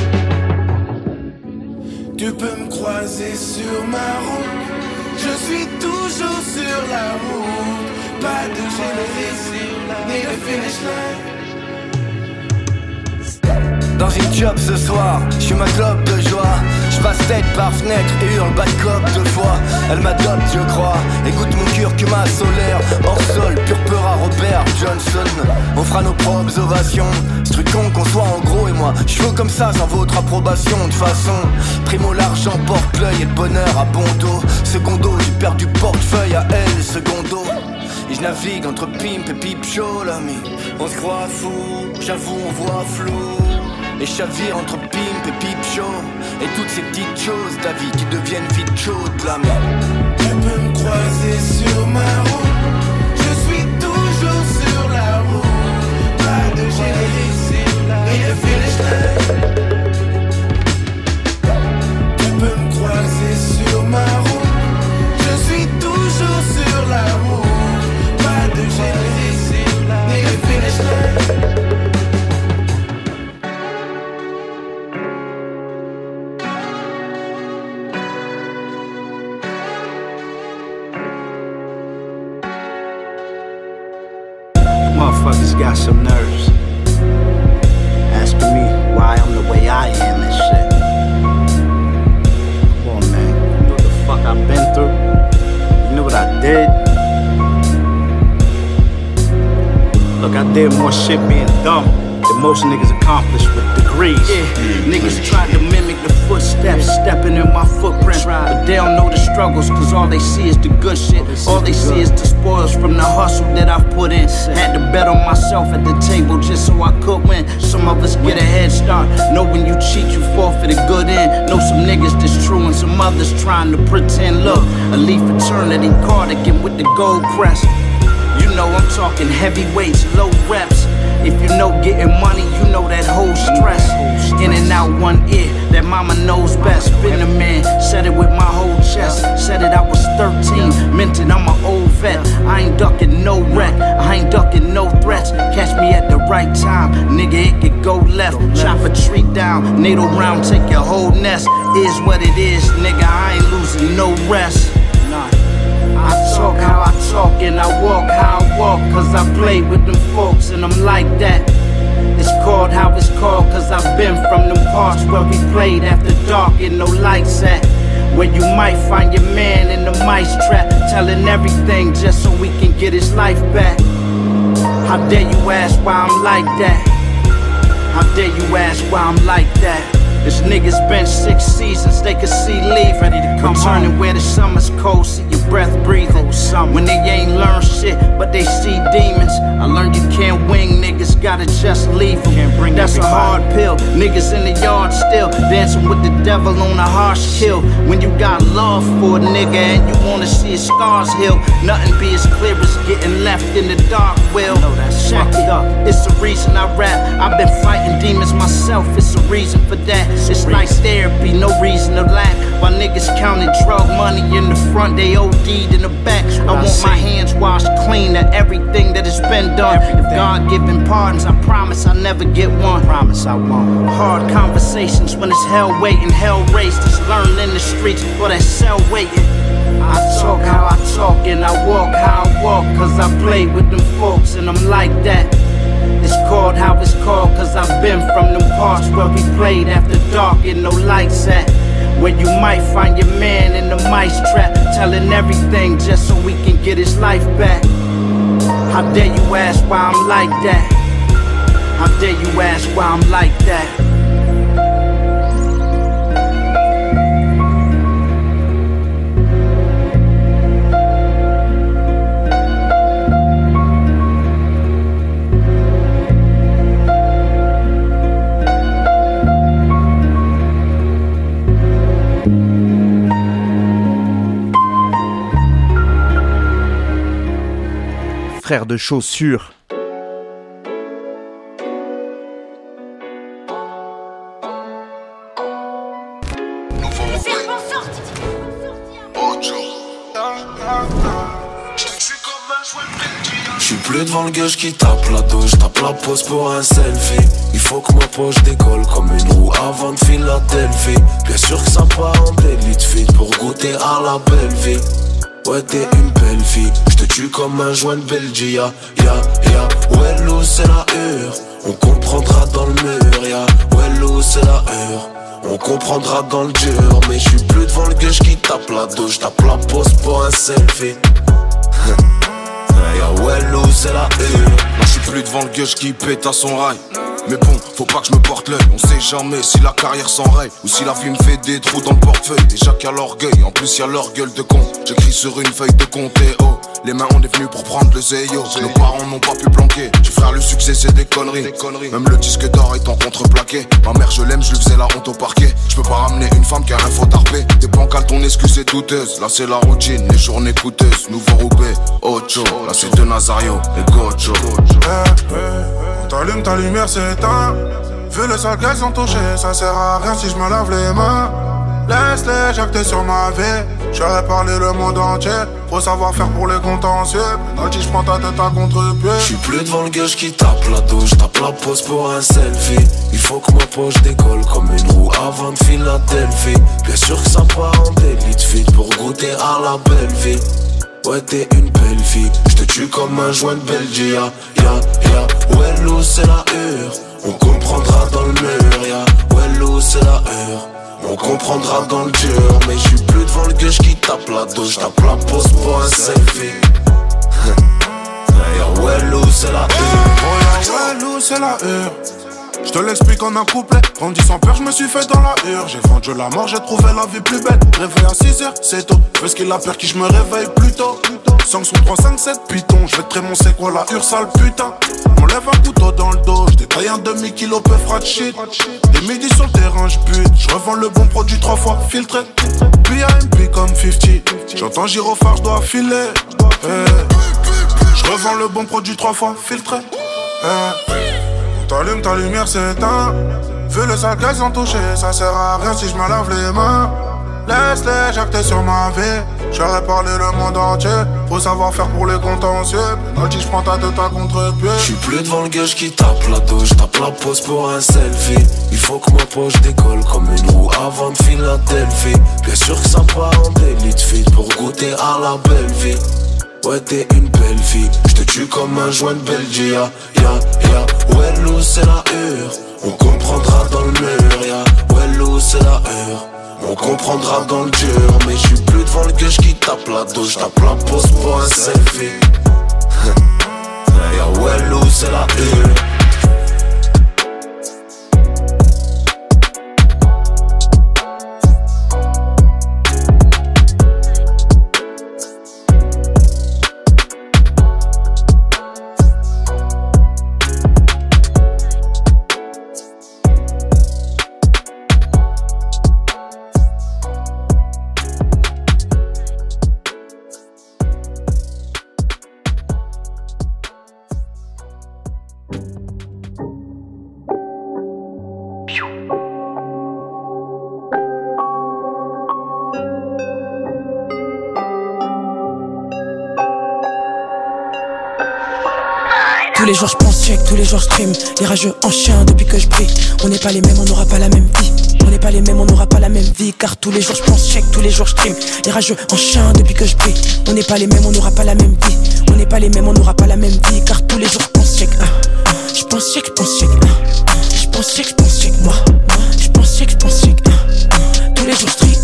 [SPEAKER 8] line. Tu peux me croiser sur ma route. Je suis toujours sur la route. Pas de générer sur la et le finish line.
[SPEAKER 27] Dans une job ce soir, je suis ma clope de joie. Je passe tête par fenêtre et hurle bad cop deux fois. Elle m'adopte je crois, écoute mon curcuma solaire. Hors sol, purpura Robert Johnson. On fera nos propres ovations. Ce truc con qu'on soit en gros et moi je veux comme ça sans votre approbation. De façon, primo l'argent porte l'œil et le bonheur à bon dos. Secondo, j'ai perdu portefeuille à elle, secondo. Et je navigue entre pimp et pipe show l'ami. On se croit fou, j'avoue on voit flou. Et chavire entre pimp et pipe show. Et toutes ces petites choses de la vie qui deviennent vite chaudes la main.
[SPEAKER 8] Tu peux me croiser sur ma route. Je suis toujours sur la route. Pas de générer sur la et le finish line. Tu peux me croiser sur ma route. Je suis toujours sur la route. Pas de générer sur la et le finish line.
[SPEAKER 9] Motherfuckers got some nerves. Asking me why I'm the way I am and shit. Come on, man. You know what the fuck I've been through? You know what I did? Look, I did more shit being dumb than most niggas accomplished with degrees.
[SPEAKER 22] Yeah, niggas tried to mimic the footsteps, stepping in my footprint. But they don't know the struggles, cause all they see is the good shit. All they see is the spoils from the hustle that I've put in. Had to bet on myself at the table just so I could win. Some of us get a head start. Know when you cheat, you fall for the good end. Know some niggas that's true and some others trying to pretend. Look, a leaf eternity cardigan with the gold crest. You know I'm talking heavyweights, low reps. If you know getting money, you know that whole stress. In and out one ear, that mama knows best. Been a man, said it with my whole chest. Said it I was thirteen, meant it I'm an old vet. I ain't ducking no wreck, I ain't ducking no threats. Catch me at the right time, nigga it could go left. Chop a tree down, natal round, take your whole nest. Is what it is, nigga, I ain't losing no rest. Nah. I talk how I talk and I walk how I walk. Cause I play with them folks and I'm like that. It's called how it's called cause I've been from them parts where we played after dark and no lights at. Where you might find your man in the mice trap, telling everything just so we can get his life back. How dare you ask why I'm like that? How dare you ask why I'm like that?
[SPEAKER 9] This niggas been six seasons, they could see leave. Ready to come turning where the summer's cold, see your breath breathing. When they ain't learned shit, but they see demons. I learned you can't wing, niggas gotta just leave them. That's a hard pill. Niggas in the yard still dancing with the devil on a harsh kill. When you got love for a nigga and you wanna see his scars heal, nothing be as clear as getting left in the dark. Will check it up. It's the reason I rap. I've been fighting demons myself. It's a reason for that. It's nice therapy, no reason to lack. While niggas counting drug money in the front, they O D'd in the back. I want my hands washed clean of everything that has been done. If God given pardons, I promise I'll never get one. Promise I won't. Hard conversations when it's hell waiting, hell raised. It's learning in the streets or that cell waiting. I talk how I talk and I walk how I walk, cause I play with them folks and I'm like that. It's called how it's called, cause I've been from them parts where we played after dark and no lights at. Where you might find your man in the mice trap, telling everything just so we can get his life back. How dare you ask why I'm like that? How dare you ask why I'm like that?
[SPEAKER 4] Frère de chaussures.
[SPEAKER 10] J'suis plus devant le gueule qui tape la douche, tape la pose pour un selfie. Il faut que ma poche décolle comme une roue avant de Philadelphie. Bien sûr que ça part en délit de feed pour goûter à la belle vie. Ouais t'es une belle fille, j'te tue comme un joint de Belgia. Ya, ya, ouais l'eau c'est la hure, on comprendra dans le mur. Ya, ouais l'eau c'est la hure, on comprendra dans le dur. Mais j'suis plus devant le gueule qui tape la douche, tape la pose pour un selfie. Ya, ouais l'eau c'est la hure.
[SPEAKER 11] Moi j'suis plus devant le gueule qui pète à son rail. Mais bon, faut pas que je me porte l'œil. On sait jamais si la carrière s'enraye ou si la vie me fait des trous dans le portefeuille. Déjà qu'il y a l'orgueil, en plus y a leur gueule de con. J'écris sur une feuille de compte et oh, les mains on est venus pour prendre le zéyo. Nos parents n'ont pas pu planquer. J'ai frère le succès c'est des conneries. Même le disque d'or étant contreplaqué. Ma mère je l'aime, je lui faisais la honte au parquet. Je peux pas ramener une femme qui a un faux tarpé. Des bancales, ton excuse est douteuse. Là c'est la routine, les journées coûteuses. Nouveau Roubaix, Ocho. Là c'est de Nazario et Gocho.
[SPEAKER 12] T'allumes ta lumière, c'est éteint. Vu le sale qu'elles ont touché, ça sert à rien si je me lave les mains. Laisse-les jacter sur ma vie. J'aurais parlé le monde entier. Faut savoir faire pour les contentieux. Penalty, j'prends ta tête à contre-pied.
[SPEAKER 10] J'suis plus devant le gueule qui tape la douche, tape la pose pour un selfie. Il faut que ma poche décolle comme une roue avant de Philadelphie. Bien sûr que ça part en délit de feed pour goûter à la belle vie. Ouais t'es une belle fille, j'te tue comme un joint de Belgia. Ya, ya, ouais l'eau c'est la hure, on comprendra dans le mur. Ya, ouais l'eau c'est la hure, on comprendra dans le dur. Mais j'suis plus devant le gueule qui tape la douche, tape la pose pour un selfie. Ya, ouais l'eau c'est la hure,
[SPEAKER 12] ouais l'eau c'est la hure. Je te l'explique en un couplet. Grandi sans peur, je me suis fait dans la hure. J'ai vendu la mort, j'ai trouvé la vie plus belle. Réveil à six heures, c'est tôt. Fais ce qu'il a peur qui je me réveille plus tôt. cinq son trois, cinq, sept, python. Je vais te trémon, c'est quoi la hure, sale putain. On lève un couteau dans le dos. J'détaille un demi-kilo, peu frat shit. Des midis sur le terrain, j'bute. J'revends le bon produit trois fois filtré. B M P comme cinquante. J'entends gyrophare, j'dois filer. Hey. J'revends le bon produit trois fois filtré. Hey. T'allumes ta lumière, c'est éteint. Vu le sale qu'elles ont touché, ça sert à rien si je me lave les mains. Laisse-les jacter sur ma vie. J'aurais parlé le monde entier. Faut savoir faire pour les contentieux. Penalty, j'prends ta tête à contre-pied.
[SPEAKER 10] J'suis plus devant le gueule qui tape la douche, tape la pose pour un selfie. Il faut que ma poche décolle comme une roue avant de Philadelphie. Bien sûr que ça part en délit de feed pour goûter à la belle vie. Ouais t'es une belle fille, j'te tue comme un joint de Belgia. Ya, ya, ouais l'eau c'est la hure, on comprendra dans le mur. Ya, ouais l'eau c'est la hure, on comprendra dans le dur. Mais j'suis plus devant le gueule qui tape la douche, tape la pose pour un selfie. Ya, ouais l'eau c'est la hure.
[SPEAKER 13] Tous les jours je pense check, tous les jours je stream. Les rageux en chien depuis que je brille. On n'est pas les mêmes, on n'aura pas la même vie. On n'est pas les mêmes, on n'aura pas la même vie. Car tous les jours je pense check, tous les jours je stream. Les rageux en chien depuis que je brille. On n'est pas les mêmes, on n'aura pas la même vie. On n'est pas les mêmes, on n'aura pas la même vie. Car tous les jours je pense check. Je pense check, je pense check. Je pense check, je pense check moi. Je pense check, je pense check. Tous les jours je stream.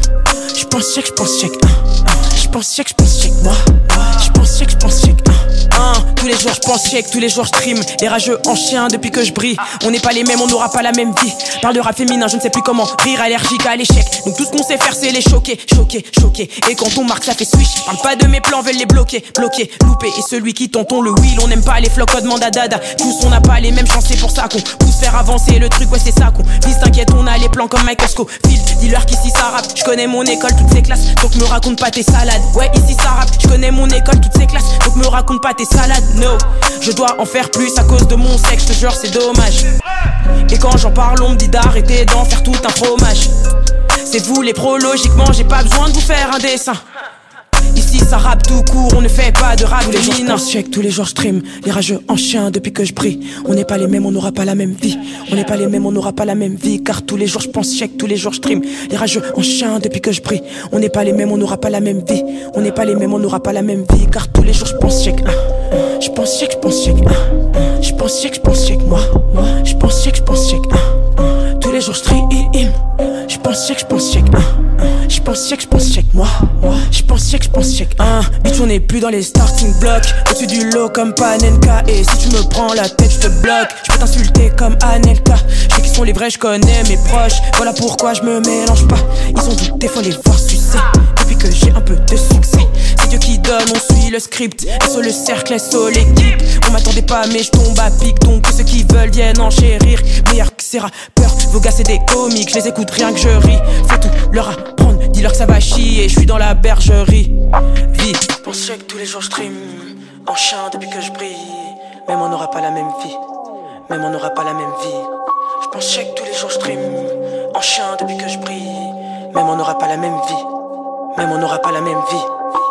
[SPEAKER 13] Je pense check, je pense check. Je pense check, je pense check moi. Je pense check, je pense check. Hein, tous les jours je pense check, tous les jours je stream. Les rageux en chien depuis que je brille. On n'est pas les mêmes, on n'aura pas la même vie. Parle de rap féminin, je ne sais plus comment. Rire allergique à l'échec. Donc tout ce qu'on sait faire c'est les choquer, choquer, choquer. Et quand on marque ça fait swish. Parle pas de mes plans, veulent les bloquer, bloquer, louper. Et celui qui tonton le wheel, on n'aime pas les flocs, demande à dada. Tous on n'a pas les mêmes chances, c'est pour ça qu'on pousse faire avancer le truc, ouais c'est ça qu'on vise. T'inquiète, on a les plans comme Michael Scofield. Dis-leur qu'ici ça rappe, je connais mon école, toutes ces classes. Donc me raconte pas tes salades. Ouais ici ça rappe, je connais mon école, toutes ces classes. Donc me raconte pas tes salades, no. Je dois en faire plus à cause de mon sexe, je te jure c'est dommage. Et quand j'en parle on me dit d'arrêter d'en faire tout un fromage. C'est vous les pros, logiquement j'ai pas besoin de vous faire un dessin. Ici ça rappe tout court, on ne fait pas de rap féminin. Tous les jours je pense check, tous les jours je stream. Les rageux en chien depuis que je brille. On n'est pas les mêmes, on n'aura pas la même vie. On n'est pas les mêmes, on n'aura pas la même vie. Car tous les jours je pense check, tous les jours je stream. Les rageux en chien depuis que je brille. On n'est pas les mêmes, on n'aura pas la même vie. On n'est pas les mêmes, on n'aura pas la même vie. Car tous les jours je pense check. Je pense check, je pense check. Je pense check, je pense check moi. Je pense check, je pense check. Tous les jours je stream. Je pense check, je pense check. Je pense check, je pense check moi. Je pense check, je pense check. Hein, bitch on n'est plus dans les starting blocks. Au-dessus du lot comme Panenka. Et si tu me prends la tête, je te bloque. Je peux t'insulter comme Anelka. Je sais qui sont les vrais, je connais mes proches. Voilà pourquoi je me mélange pas. Ils ont douté, faut les voir sucer. Depuis que j'ai un peu de succès. C'est Dieu qui donne, on suit le script. Et sur le cercle, sur l'équipe. On m'attendait pas mais je tombe à pic. Donc ceux qui veulent viennent enchérir. Meilleur que ces rappeurs, vos gars c'est des comiques. Je les écoute rien que je ris. Faut tout leur apprendre, dis-leur que ça va chier. Je suis dans la bergerie. Vie. Je pense check, tous les jours je stream. En chien depuis que je brille. Même on n'aura pas la même vie. Même on n'aura pas la même vie. Je pense check, tous les jours je stream. En chien depuis que je brille. Même on n'aura pas la même vie. Même on n'aura pas la même vie.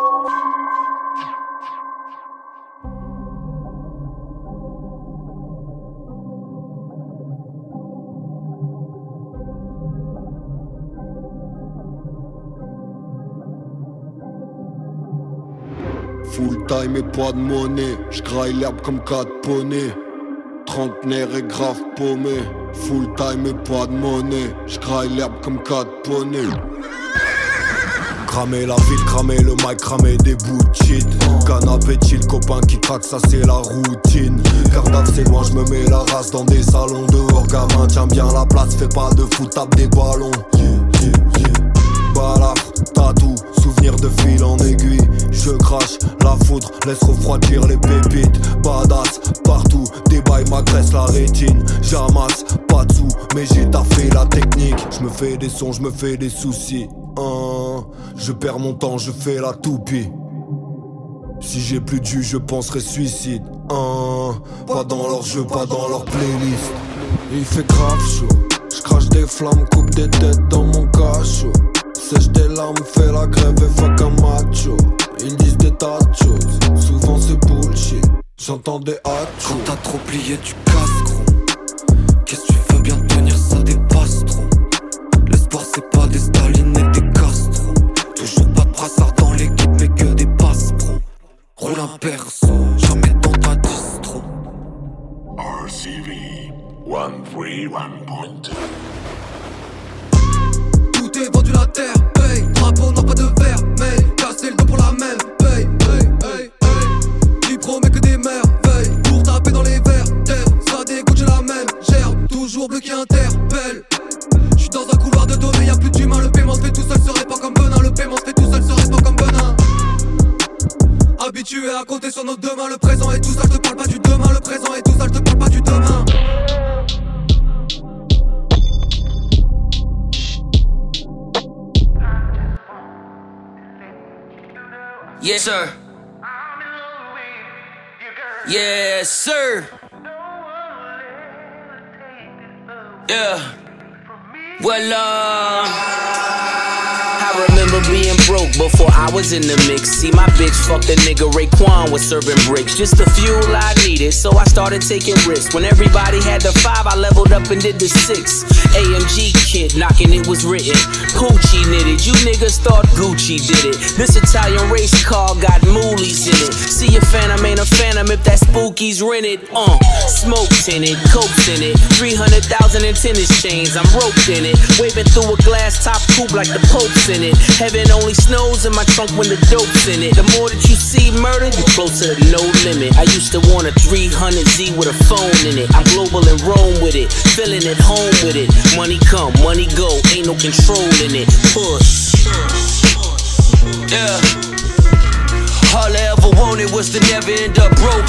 [SPEAKER 14] Full time et pas de monnaie, j'graille l'herbe comme quatre poneys. Trentenaire et grave paumé. Full time et pas de monnaie, j'graille l'herbe comme quatre poneys. Cramer la ville, cramer le mic, cramer des bouts de shit. Canapé chill, copain qui craque, ça c'est la routine. Cardaf c'est loin, j'me mets la race dans des salons dehors. Gamin tiens bien la place, fais pas de foot, tape des ballons. Balaf, tatou, souvenir de fil en aiguille. Je crache la foudre, laisse refroidir les pépites. Badass, partout, débaille m'agresse la rétine. J'amasse, pas de sous, mais j'ai taffé la technique. Je me fais des sons, je me fais des soucis. Hein, je perds mon temps, je fais la toupie. Si j'ai plus de jus, je penserai suicide. Hein, pas dans leur jeu, pas dans leur playlist. Il fait grave chaud, je crache des flammes, coupe des têtes dans mon cachot. Sèche des larmes, fais la grève et fuck un macho. Ils disent des tas de choses, souvent c'est bullshit. J'entends des hachos.
[SPEAKER 27] Quand t'as trop plié, tu casses gros. Qu'est-ce que tu veux bien tenir, ça dépasse trop. L'espoir c'est pas des Staline et des Castro. Toujours pas de brassard dans l'équipe mais que des passes pro. Roule un perso, jamais dans ta distro.
[SPEAKER 15] R C V one three one point two.
[SPEAKER 16] Tout est vendu la terre, paye. Drapeau n'a pas de verre, mais casser le dos pour la même, paye, paye, paye, paye. Qui promet que des merveilles pour taper dans les verres, terre. Ça dégoûte, j'ai la même gerbe, toujours bleu qui interpelle. J'suis dans un couloir de données, y'a plus d'humain. Le paiement se fait tout seul, serait pas comme Benin. Le paiement se fait tout seul, serait pas comme Benin. Habitué à compter sur nos deux mains. Le présent est tout ça, je te parle pas du demain. Le présent est tout ça, je te parle pas du demain.
[SPEAKER 13] Yes sir. Yes sir. Yeah. Well, uh, I remember
[SPEAKER 3] remember being broke before I was in the mix. See, my bitch fucked a nigga Raekwon was serving bricks. Just the fuel I needed, so I started taking risks. When everybody had the five, I leveled up and did the six. A M G kid knocking, it was written. Poochie knitted, you niggas thought Gucci did it. This Italian race car got moolies in it. See a phantom ain't a phantom if that spooky's rented. Uh, smoke tinted, cokes in it. three hundred thousand in tennis chains, I'm roped in it. Waving through a glass top coupe like the Pope's in it. Heaven only snows in my trunk when the dope's in it. The more that you see murder, you closer to no limit. I used to want a three hundred Z with a phone in it. I'm global in Rome with it, feeling at home with it. Money come, money go, ain't no control in it. Push.
[SPEAKER 17] Yeah. All I ever wanted was to never end up broke.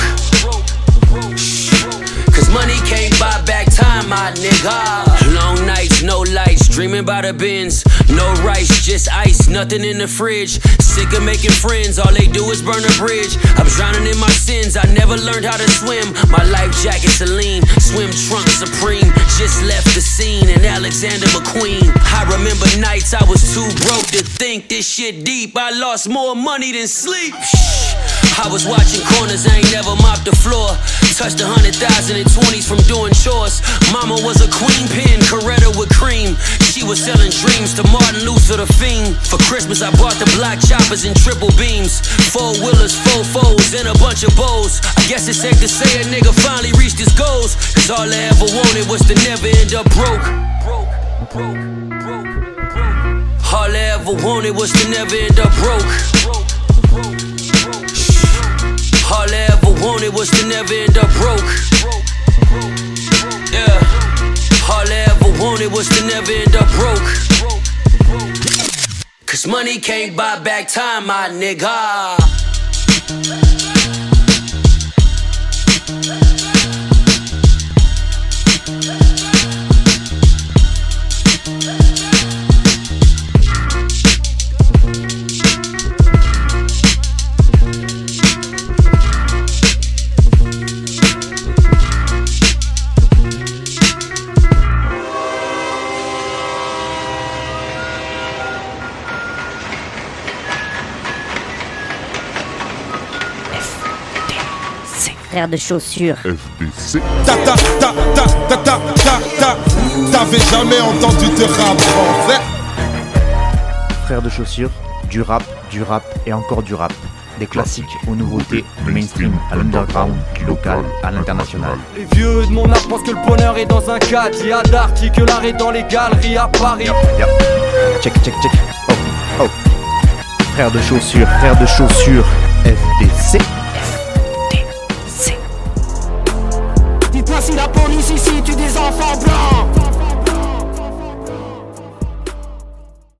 [SPEAKER 17] Cause money can't buy back time, my nigga. Long nights, no lights, dreaming about the bins. No rice, just ice, nothing in the fridge. Sick of making friends, all they do is burn a bridge. I'm drowning in my sins, I never learned how to swim. My life jacket Celine, swim trunk Supreme. Just left the scene in Alexander McQueen. I remember nights I was too broke to think this shit deep. I lost more money than sleep. I was watching corners, I ain't never mopped the floor. Touched a hundred thousand in twenties from doing chores. Mama was a queen pin, Coretta with cream. She was selling dreams to Martin Luther the Fiend. For Christmas I bought the block choppers and triple beams. Four wheelers, four foes, and a bunch of bows. I guess it's safe to say a nigga finally reached his goals. Cause all I ever wanted was to never end up broke. All I ever wanted was to never end up broke. All I ever wanted was to never end up broke. Yeah. All I ever wanted was to never end up broke. Cause money can't buy back time, my nigga.
[SPEAKER 18] Frère de chaussures.
[SPEAKER 19] F D C.
[SPEAKER 2] Ta ta ta ta ta ta ta ta. T'avais jamais entendu de rap français.
[SPEAKER 4] Frère de chaussures, du rap, du rap et encore du rap. Des classiques aux nouveautés, du mainstream à l'underground, du local à l'international.
[SPEAKER 1] Les vieux de mon âge pensent que le bonheur est dans un cadre. Il y a d'arty que l'art est dans les galeries à Paris.
[SPEAKER 4] Yep, yep. Check, check, check. Oh, oh. Frère de chaussures, frère de chaussures, F D C.